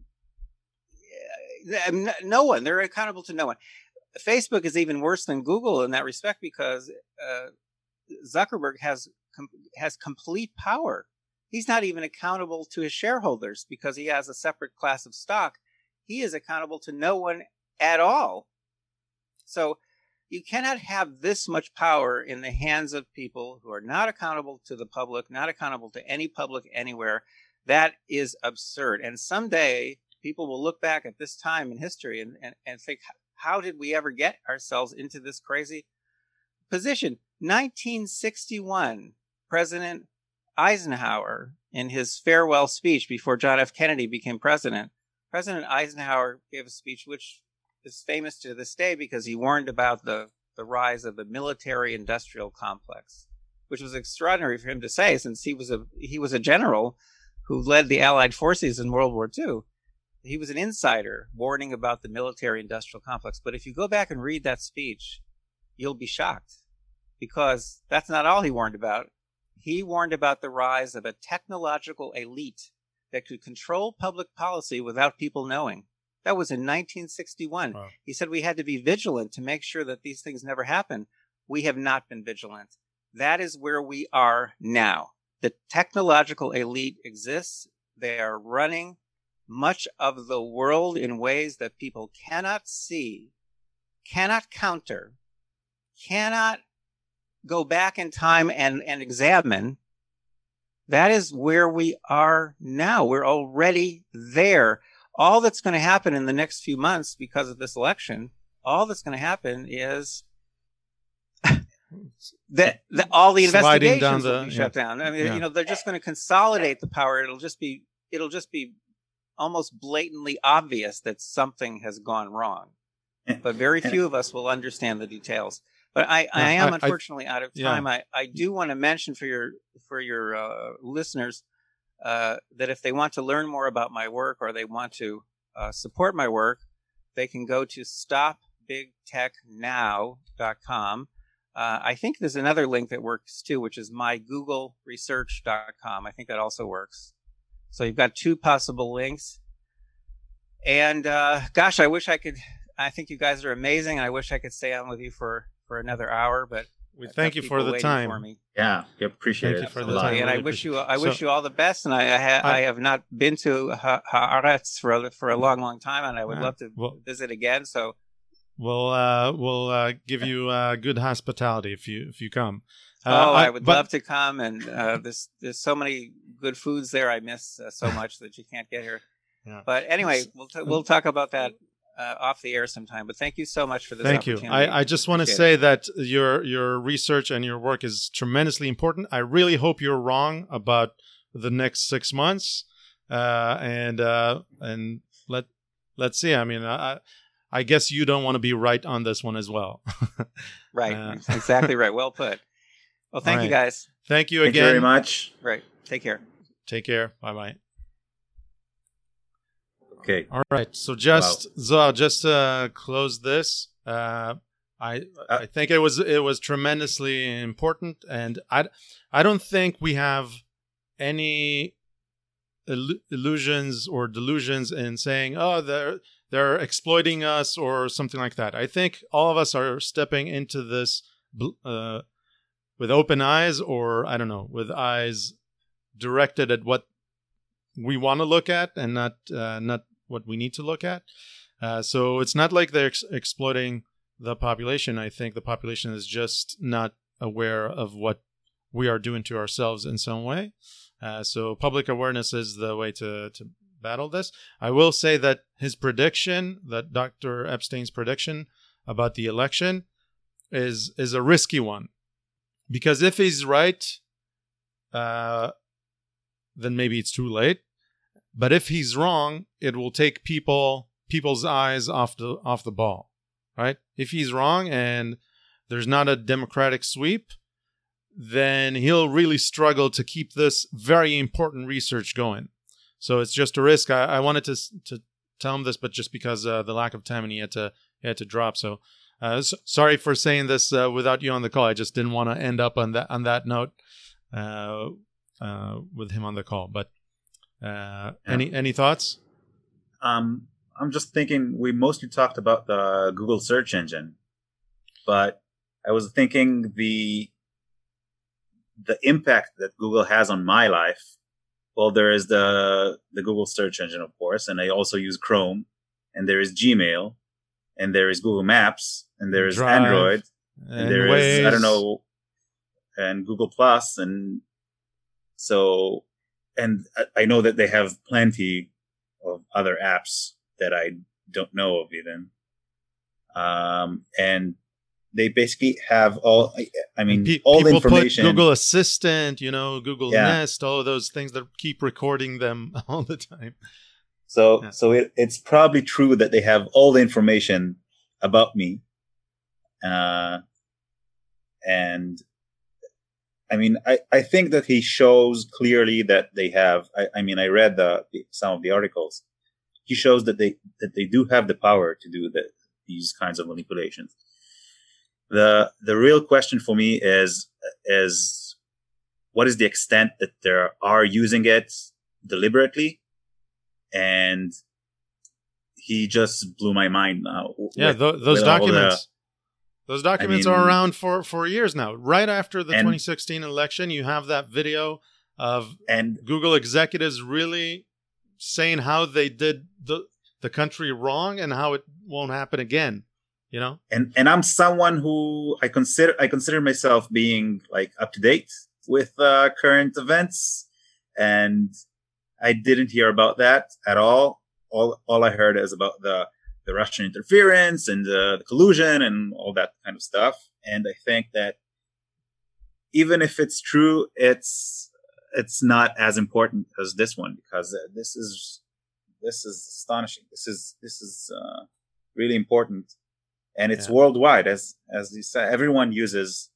no one. They're accountable to no one. Facebook is even worse than Google in that respect because uh, Zuckerberg has com- has complete power. He's not even accountable to his shareholders because he has a separate class of stock. He is accountable to no one at all. So you cannot have this much power in the hands of people who are not accountable to the public, not accountable to any public anywhere. That is absurd. And someday people will look back at this time in history and, and, and think, how did we ever get ourselves into this crazy position? nineteen sixty-one, President Eisenhower, in his farewell speech before John F. Kennedy became president, President Eisenhower gave a speech which is famous to this day because he warned about the, the rise of the military-industrial complex, which was extraordinary for him to say since he was a he was a general who led the Allied forces in World War Two. He was an insider warning about the military-industrial complex. But if you go back and read that speech, you'll be shocked because that's not all he warned about. He warned about the rise of a technological elite that could control public policy without people knowing. That was in nineteen sixty-one. Wow. He said we had to be vigilant to make sure that these things never happen. We have not been vigilant. That is where we are now. The technological elite exists. They are running much of the world in ways that people cannot see, cannot counter, cannot go back in time and, and examine. That is where we are now. We're already there. All that's going to happen in the next few months because of this election, all that's going to happen is that, that all the investigations down the, will be shut yeah. down. I mean, yeah. you know, they're just going to consolidate the power. It'll just be, it'll just be almost blatantly obvious that something has gone wrong. But very few of us will understand the details. But I, I am I, unfortunately I, out of time. Yeah. I, I do want to mention for your for your uh, listeners uh, that if they want to learn more about my work or they want to uh, support my work, they can go to stop big tech now dot com. Uh, I think there's another link that works too, which is my google research dot com. I think that also works. So you've got two possible links. And uh, gosh, I wish I could. I think you guys are amazing. I wish I could stay on with you for. for another hour, but we thank you for the time. For yeah, we appreciate thank it. You for the time. And really I wish you, I so, wish you all the best. And I, I, ha, I, I have not been to ha- Haaretz for a, for a long, long time, and I would uh, love to well, visit again. So we'll uh, we'll uh, give you uh, good hospitality if you if you come. Uh, oh, I, I would but, love to come, and uh, there's there's so many good foods there. I miss uh, so much that you can't get here. Yeah. But anyway, we'll t- we'll talk about that. Uh, off the air sometime, but thank you so much for this thank you. I, I just want to say it. that your your research and your work is tremendously important. I really hope you're wrong about the next six months, uh, and uh, and let let's see. I mean, I I guess you don't want to be right on this one as well. Right, uh, exactly right. Well put. Well, thank right. you guys. Thank you thank again. Thank you very much. Right. Take care. Take care. Bye bye. Okay. All right. So just wow. so just to close this, uh, I uh, I think it was it was tremendously important, and I I don't think we have any ill- illusions or delusions in saying, oh, they're they're exploiting us or something like that. I think all of us are stepping into this uh, with open eyes, or I don't know, with eyes directed at what we want to look at and not uh, not what we need to look at. Uh, so it's not like they're ex- exploiting the population. I think the population is just not aware of what we are doing to ourselves in some way. Uh, so public awareness is the way to, to battle this. I will say that his prediction, that Doctor Epstein's prediction about the election, is is a risky one. Because if he's right, uh, then maybe it's too late. But if he's wrong, it will take people people's eyes off the off the ball, right? If he's wrong and there's not a democratic sweep, then he'll really struggle to keep this very important research going. So it's just a risk. I, I wanted to to tell him this, but just because uh, the lack of time, and he had to he had to drop. So uh, so, sorry for saying this uh, without you on the call. I just didn't want to end up on that on that note uh, uh, with him on the call. But uh, Yeah. any any thoughts? Um, I'm just thinking we mostly talked about the Google search engine, but I was thinking the the impact that Google has on my life. Well, there is the the Google search engine, of course, and I also use Chrome, and there is Gmail, and there is Google Maps, and there is Drive, Android, and, and there is I Waze. don't know, and Google Plus, and so, and I- I know that they have plenty of other apps that I don't know of even, um, and they basically have all. I, I mean, Pe- all the people information. put Google Assistant, you know, Google Yeah. Nest, all of those things that keep recording them all the time. So, Yeah. so it, it's probably true that they have all the information about me. Uh, and I mean, I, I think that he shows clearly that they have, I, I mean, I read the, the, some of the articles. He shows that they, that they do have the power to do the, these kinds of manipulations. The, the real question for me is, is what is the extent that they are using it deliberately? And he just blew my mind now. Yeah, with- th- those with all the- documents. Those documents I are mean- around for, for years now. Right after the And- twenty sixteen election, you have that video of and Google executives really saying how they did the the country wrong and how it won't happen again. You know? and and I'm someone who I consider I consider myself being like up to date with uh, current events, and I didn't hear about that at all. All all I heard is about the the Russian interference and the, the collusion and all that kind of stuff. And I think that even if it's true, it's it's not as important as this one, because uh, this is this is astonishing. This is this is uh, really important. And it's Yeah. worldwide, as as you said. Everyone uses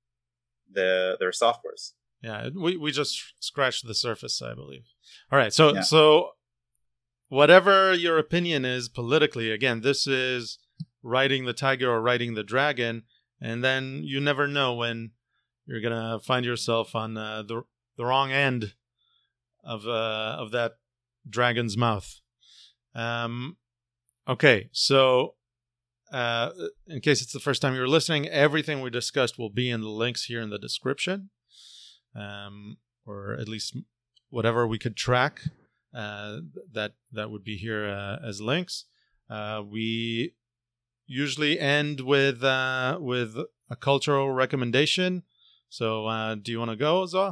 the their softwares. Yeah, we, we just scratched the surface, I believe. All right, so Yeah. so whatever your opinion is politically, again, this is riding the tiger or riding the dragon, and then you never know when you're gonna find yourself on uh, the the wrong end of uh, of that dragon's mouth. Um, okay, so. Uh, in case it's the first time you're listening, everything we discussed will be in the links here in the description, um, or at least whatever we could track uh, that that would be here uh, as links. Uh, we usually end with uh, with a cultural recommendation. So, uh, do you want to go, Zoa?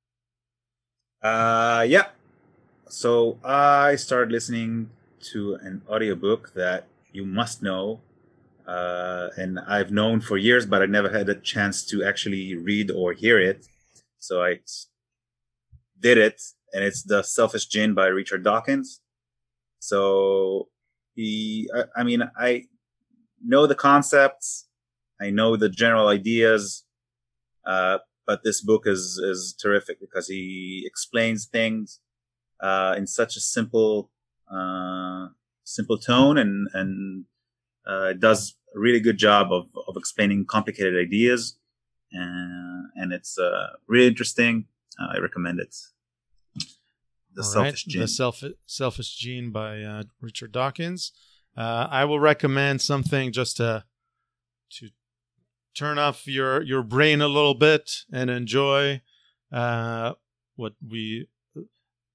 Uh, yeah. So I started listening to an audiobook that you must know. Uh, and I've known for years, but I never had a chance to actually read or hear it. So I did it, and it's The Selfish Gene by Richard Dawkins. So he, I, I mean, I know the concepts, I know the general ideas, uh, but this book is, is terrific because he explains things, uh, in such a simple, uh, simple tone, and, and, Uh, it does a really good job of, of explaining complicated ideas, uh, and it's uh, really interesting. Uh, I recommend it. The All Selfish right, Gene. The Self- Selfish Gene by uh, Richard Dawkins. Uh, I will recommend something just to to turn off your, your brain a little bit and enjoy uh, what we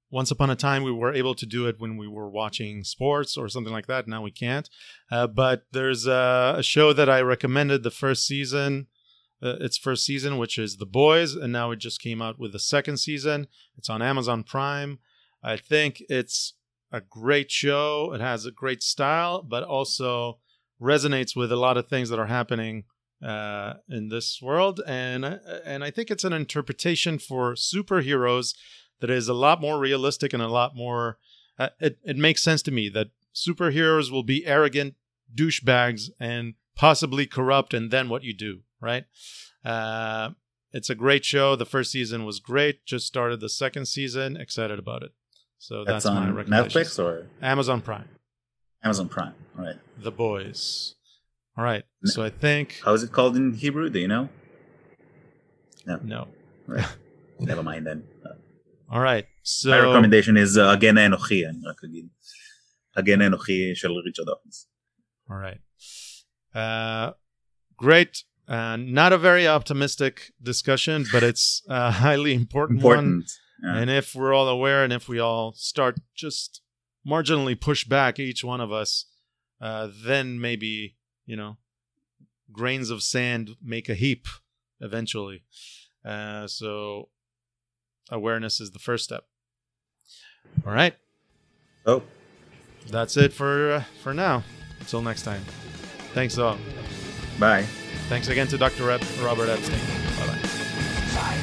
once upon a time, we were able to do it when we were watching sports or something like that. Now we can't. Uh, but there's a, a show that I recommended the first season, uh, its first season, which is The Boys. And now it just came out with the second season. It's on Amazon Prime. I think it's a great show. It has a great style, but also resonates with a lot of things that are happening uh, in this world. And, and I think it's an interpretation for superheroes that is a lot more realistic and a lot more, uh, it, it makes sense to me that superheroes will be arrogant douchebags and possibly corrupt, and then what you do, right? Uh, it's a great show. The first season was great. Just started the second season. Excited about it. So that's, that's my on recommendation. Netflix or Amazon Prime. Amazon Prime. All right. The Boys. All right. So I think... How is it called in Hebrew? Do you know? No. No. Right. Never mind then. Uh, All right. So my recommendation is uh, Hagen Enochi. אני רק אגיד. Hagen Enochi של ריצ'רד דורקינס. All right. Uh, great. Uh, not a very optimistic discussion, but it's a highly important, Important. one. Yeah. And if we're all aware and if we all start just marginally push back each one of us, uh, then maybe, you know, grains of sand make a heap eventually. Uh, so awareness is the first step. All right. Oh. That's it for uh, for now. Until next time. Thanks all. Bye. Thanks again to Doctor Rep- Robert Epstein. Bye-bye.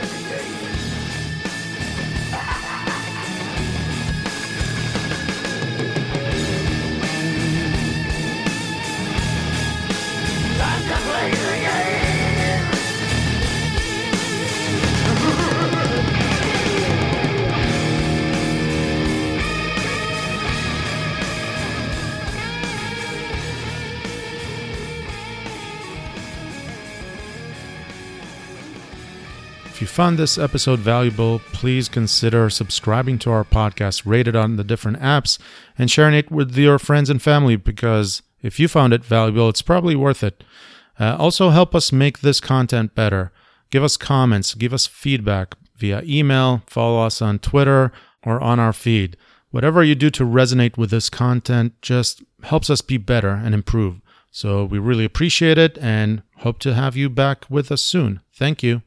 Time to play the game. If you found this episode valuable, please consider subscribing to our podcast, rated on the different apps, and sharing it with your friends and family, because if you found it valuable, it's probably worth it. Uh, also, help us make this content better. Give us comments, give us feedback via email, follow us on Twitter, or on our feed. Whatever you do to resonate with this content just helps us be better and improve. So we really appreciate it and hope to have you back with us soon. Thank you.